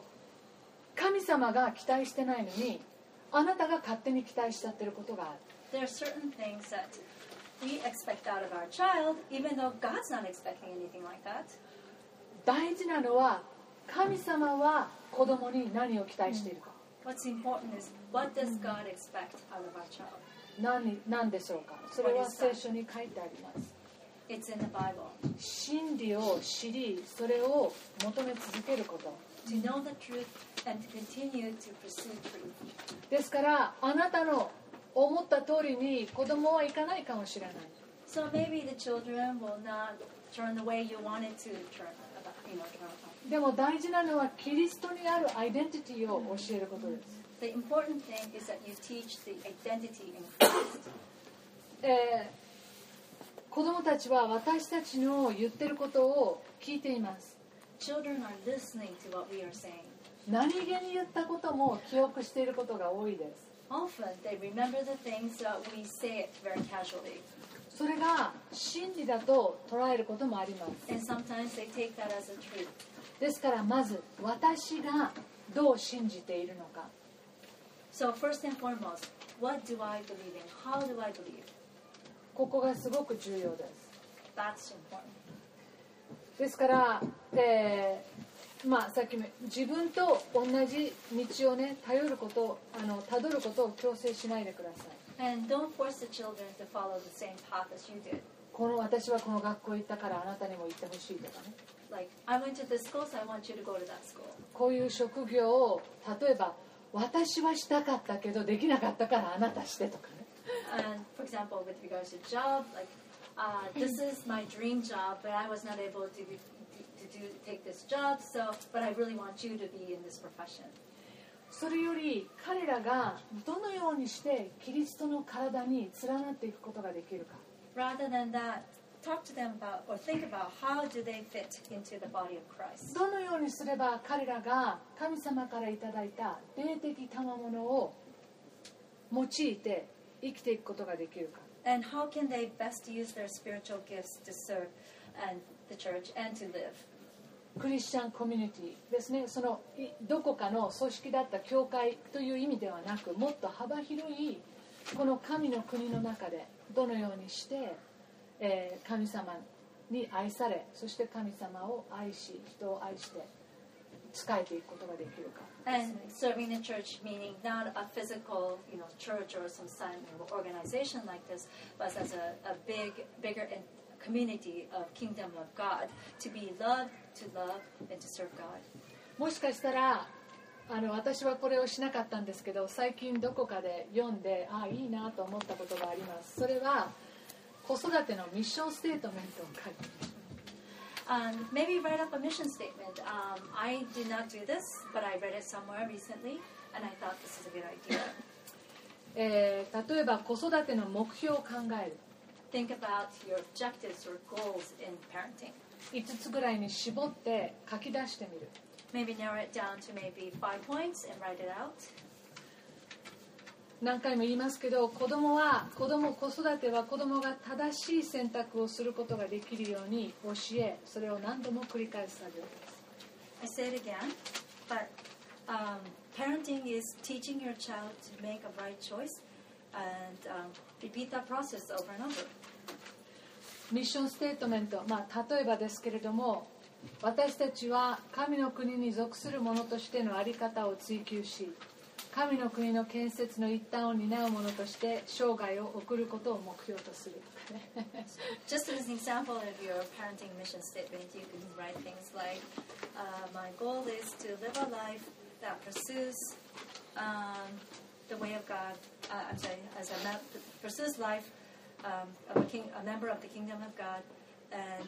神様が期待してないのに、あなたが勝手に期待しちゃってることがある。 There are certain things that we expect out of our child, even though God's not expecting anything like that. 大事なのは、神様は子供に何を期待しているか。 What's important is, what does God expect out of our child? 何でしょうか。それは聖書に書いてあります。 It's in the Bible. 真理を知り、それを求め続けること。 To know the truth and to continue to pursue truth. ですからあなたの思った通りに子供はいかないかもしれない。 So maybe the children will not turn the way you wanted to turn. でも大事なのはキリストにあるアイデンティティを教えることです。 The important thing is that you teach the identity in Christ. 子供たちは私たちの言ってることを聞いています。 Children are listening to what we are saying. 何気に言ったことも記憶していることが多いです。 Often they remember the things that we say it very casually. それが真理だと捉えることもあります。 And sometimes they take that as a truth. ですからまず私がどう信じているのか。 So first and foremost, what do I believe in? How do I believe? ここがすごく重要です。 That's important. ですから、さっきも自分と同じ道をね頼ること辿ることを強制しないでください。 And don't force the children to follow the same path as you did. 私はこの学校行ったからあなたにも行ってほしいとかね。 Like, I went to this school, so I want you to go to that school. こういう職業を例えば私はしたかったけどできなかったからあなたしてとかね。 And for example, with regards to job, like, this is my dream job, but I was not able to take this job. But I really want you to be in this profession. それより彼らがどのようにしてキリストの体に連なっていくことができるか。 Rather than that, talk to them about or think about how do they fit into the body of Christ. どのようにすれば彼らが神様からいただいた霊的賜物を用いて生きていくことができるか。 And how can they best use their spiritual gifts to serve and the church and to live? クリスチャンコミュニティですね。そのどこかの組織だった教会という意味ではなく、もっと幅広いこの神の国の中でどのようにして、神様に愛され、そして神様を愛し、人を愛して仕えていくことができるか。 And serving the church, meaning not a physical, church or some organization like this, but as a bigger community of kingdom of God, to be loved, to love, and to serve God. もしかしたら私はこれをしなかったんですけど、最近どこかで読んでいいなと思ったことがあります。それは子育てのミッションステートメントを書いています。 Maybe write up a mission statement. I did not do this, but I read it somewhere recently, and I thought this is a good idea. 例えば子育ての目標を考える。 Think about your objectives or goals in parenting. 5つぐらいに絞って書き出してみる。 Maybe narrow it down to maybe 5 points and write it out. 何回も言いますけど、子育ては子供が正しい選択をすることができるように教え、それを何度も繰り返す作業です。 I say it again, but parenting is teaching your child to make a right choice and repeat that process over and over. ミッションステートメント、例えばですけれども、私たちは神の国に属する者としての在り方を追求し、神の国の建設の一端を担う者として生涯を送ることを目標とする。 Just as an example of your parenting mission statement, you can write things like, my goal is to live a life that pursues the way of God, pursues life of a member of the kingdom of God and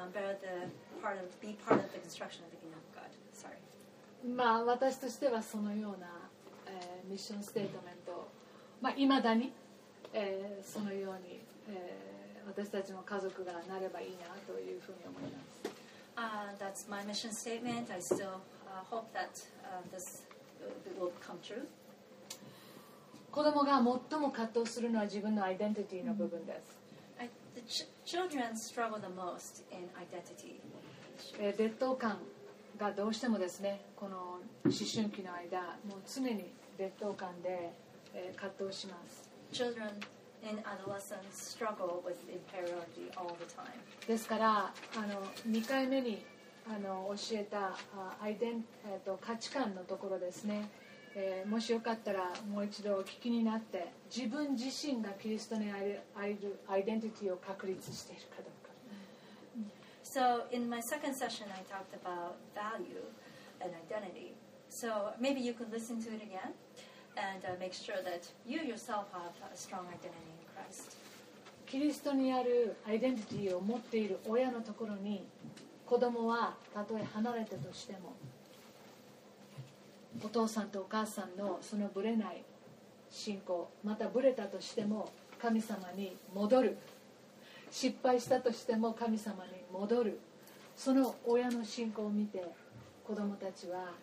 be part of the construction of the kingdom of God. Sorry. 私としてはそのようなミッションステートメントをいまだに、そのように、私たちの家族がなればいいなというふうに思います。 That's my mission statement. I still hope that this will come true. 子供が最も葛藤するのは自分のアイデンティティの部分です。 The children struggle the most in identity. 劣等感がどうしてもですね、この思春期の間もう常に劣等感で、葛藤します。 Children in adolescence struggle with inferiority all the time. ですから2回目に教えた価値観のところですね、もしよかったらもう一度お聞きになって自分自身がキリストにあるアイデンティティを確立しているかどうか。 So in my second session, I talked about value and identity. So maybe you could listen to it again and make sure that you yourself have a strong identity in Christ. キリストにあるアイデンティティを持っている親のところに子供はたとえ離れたとしてもお父さんとお母さんのそのぶれない信仰、またぶれたとしても神様に戻る、失敗したとしても神様に戻る、その親の信仰を見て子供たちは、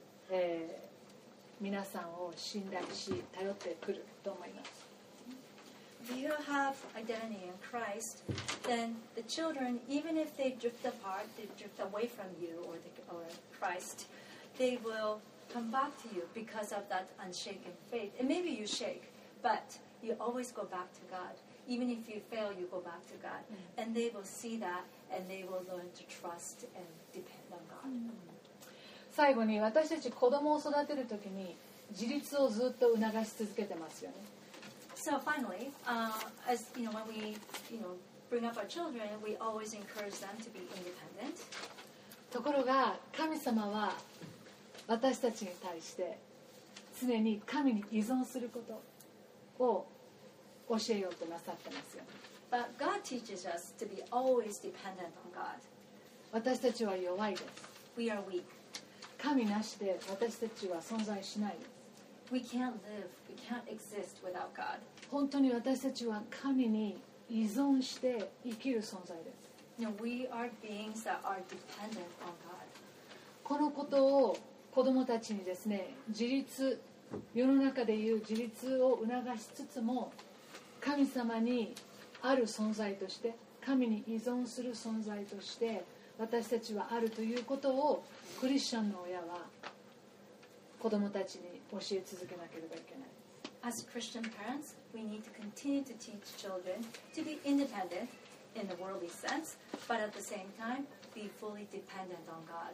皆さんを信頼し頼ってくると思います。 If you have identity in Christ, then the children, even if they drift apart, they drift away from you or Christ, they will come back to you because of that unshaken faith. And maybe you shake, but you always go back to God. Even if you fail, you go back to God. And they will see that, and they will learn to trust and depend on God. 最後に私たち子供を育てるときに自立をずっと促し続けてますよね。 So finally, as you know, when we bring up our children, we always encourage them to be independent. ところが神様は私たちに対して常に神に依存することを教えようとなさってますよね。 But God teaches us to be always dependent on God. 私たちは弱いです。 We are weak. 神なしで私たちは存在しないです。 We can't live, we can't exist without God. 本当に私たちは神に依存して生きる存在です。 We are beings that are dependent on God. このことを子どもたちにですね、自立、世の中でいう自立を促しつつも、神様にある存在として、神に依存する存在として私たちはあるということをクリスチャンの親は子どもたちに教え続けなければいけない。 As Christian parents, we need to continue to teach children to be independent in the worldly sense, but at the same time, be fully dependent on God.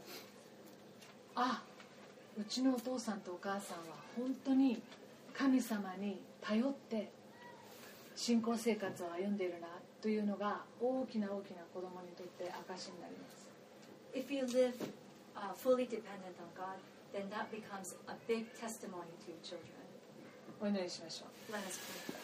うちのお父さんとお母さんは本当に神様に頼って信仰生活を歩んでいるなというのが大きな大きな子供にとって証になります。 If you live fully dependent on God, then that becomes a big testimony to your children. お祈りしましょう。 Let us pray.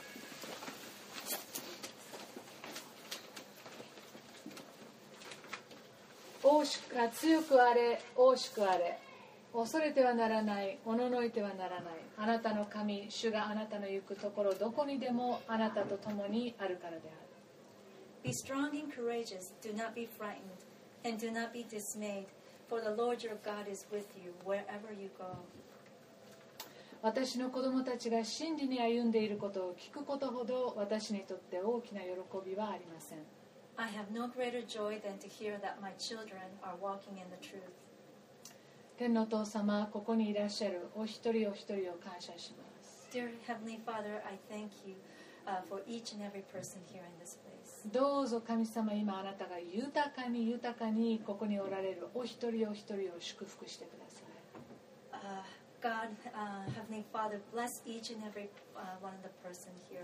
強くあれ、大しくあれ、恐れてはならない、おののいてはならない。あなたの神、主があなたの行くところどこにでもあなたと共にあるからである。 Be strong and courageous, do not be frightened, and do not be dismayed, for the Lord your God is with you wherever you go. 私の子供たちが真理に歩んでいることを聞くことほど私にとって大きな喜びはありません。 I have no greater joy than to hear that my children are walking in the truth. 天のお父様、ここにいらっしゃるお一人お一人を感謝します。 Dear Heavenly Father, I thank you for each and every person here in this place. どうぞ神様、今あなたが豊かに豊かにここにおられるお一人お一人を祝福してください。 God, Heavenly Father, bless each and every one of the person here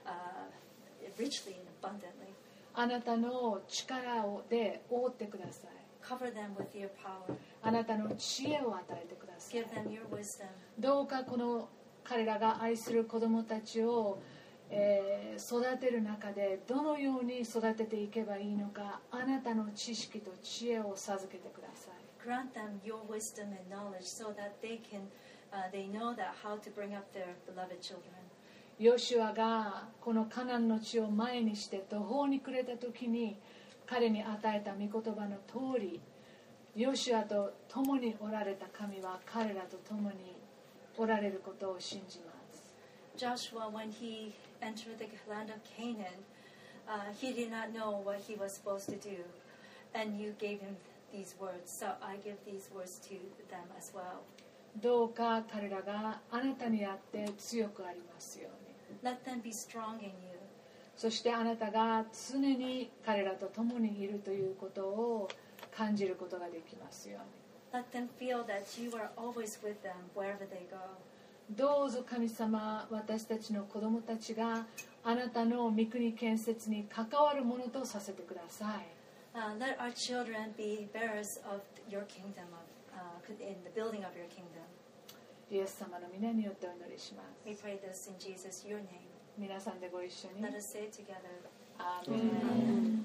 richly and abundantly. あなたの力で覆ってください。 Cover them with your power. あなたの知恵を与えてください。 Give them your wisdom. どうかこの彼らが愛する子どもたちを、育てる中でどのように育てていけばいいのか、あなたの知識と知恵を授けてください。 Grant them your wisdom and knowledge so that they know that how to bring up their beloved children. ヨシュアがこのカナンの地を前にして途方に暮れた時に彼に与えた御言葉の通り、ヨシュアと共におられた神は彼らと共におられることを信じます。 Joshua, when he entered the land of Canaan, he did not know what he was supposed to do, and you gave him these words. So I give these words to them as well. どうか彼らがあなたにあって強くありますように。 Let them be strong in you. そしてあなたが常に彼らと共にいるということを感じることができますように。 Let them feel that you are always with them wherever they go. どうぞ神様、私たちの子供たちがあなたの御国建設に関わるものとさせてください。 Let our children be bearers of your kingdom, in the building of your kingdom. イエス様の皆によってお祈りします。 We pray this in Jesus, your name. 皆さんでご一緒に。 Let us say it together. アーメン。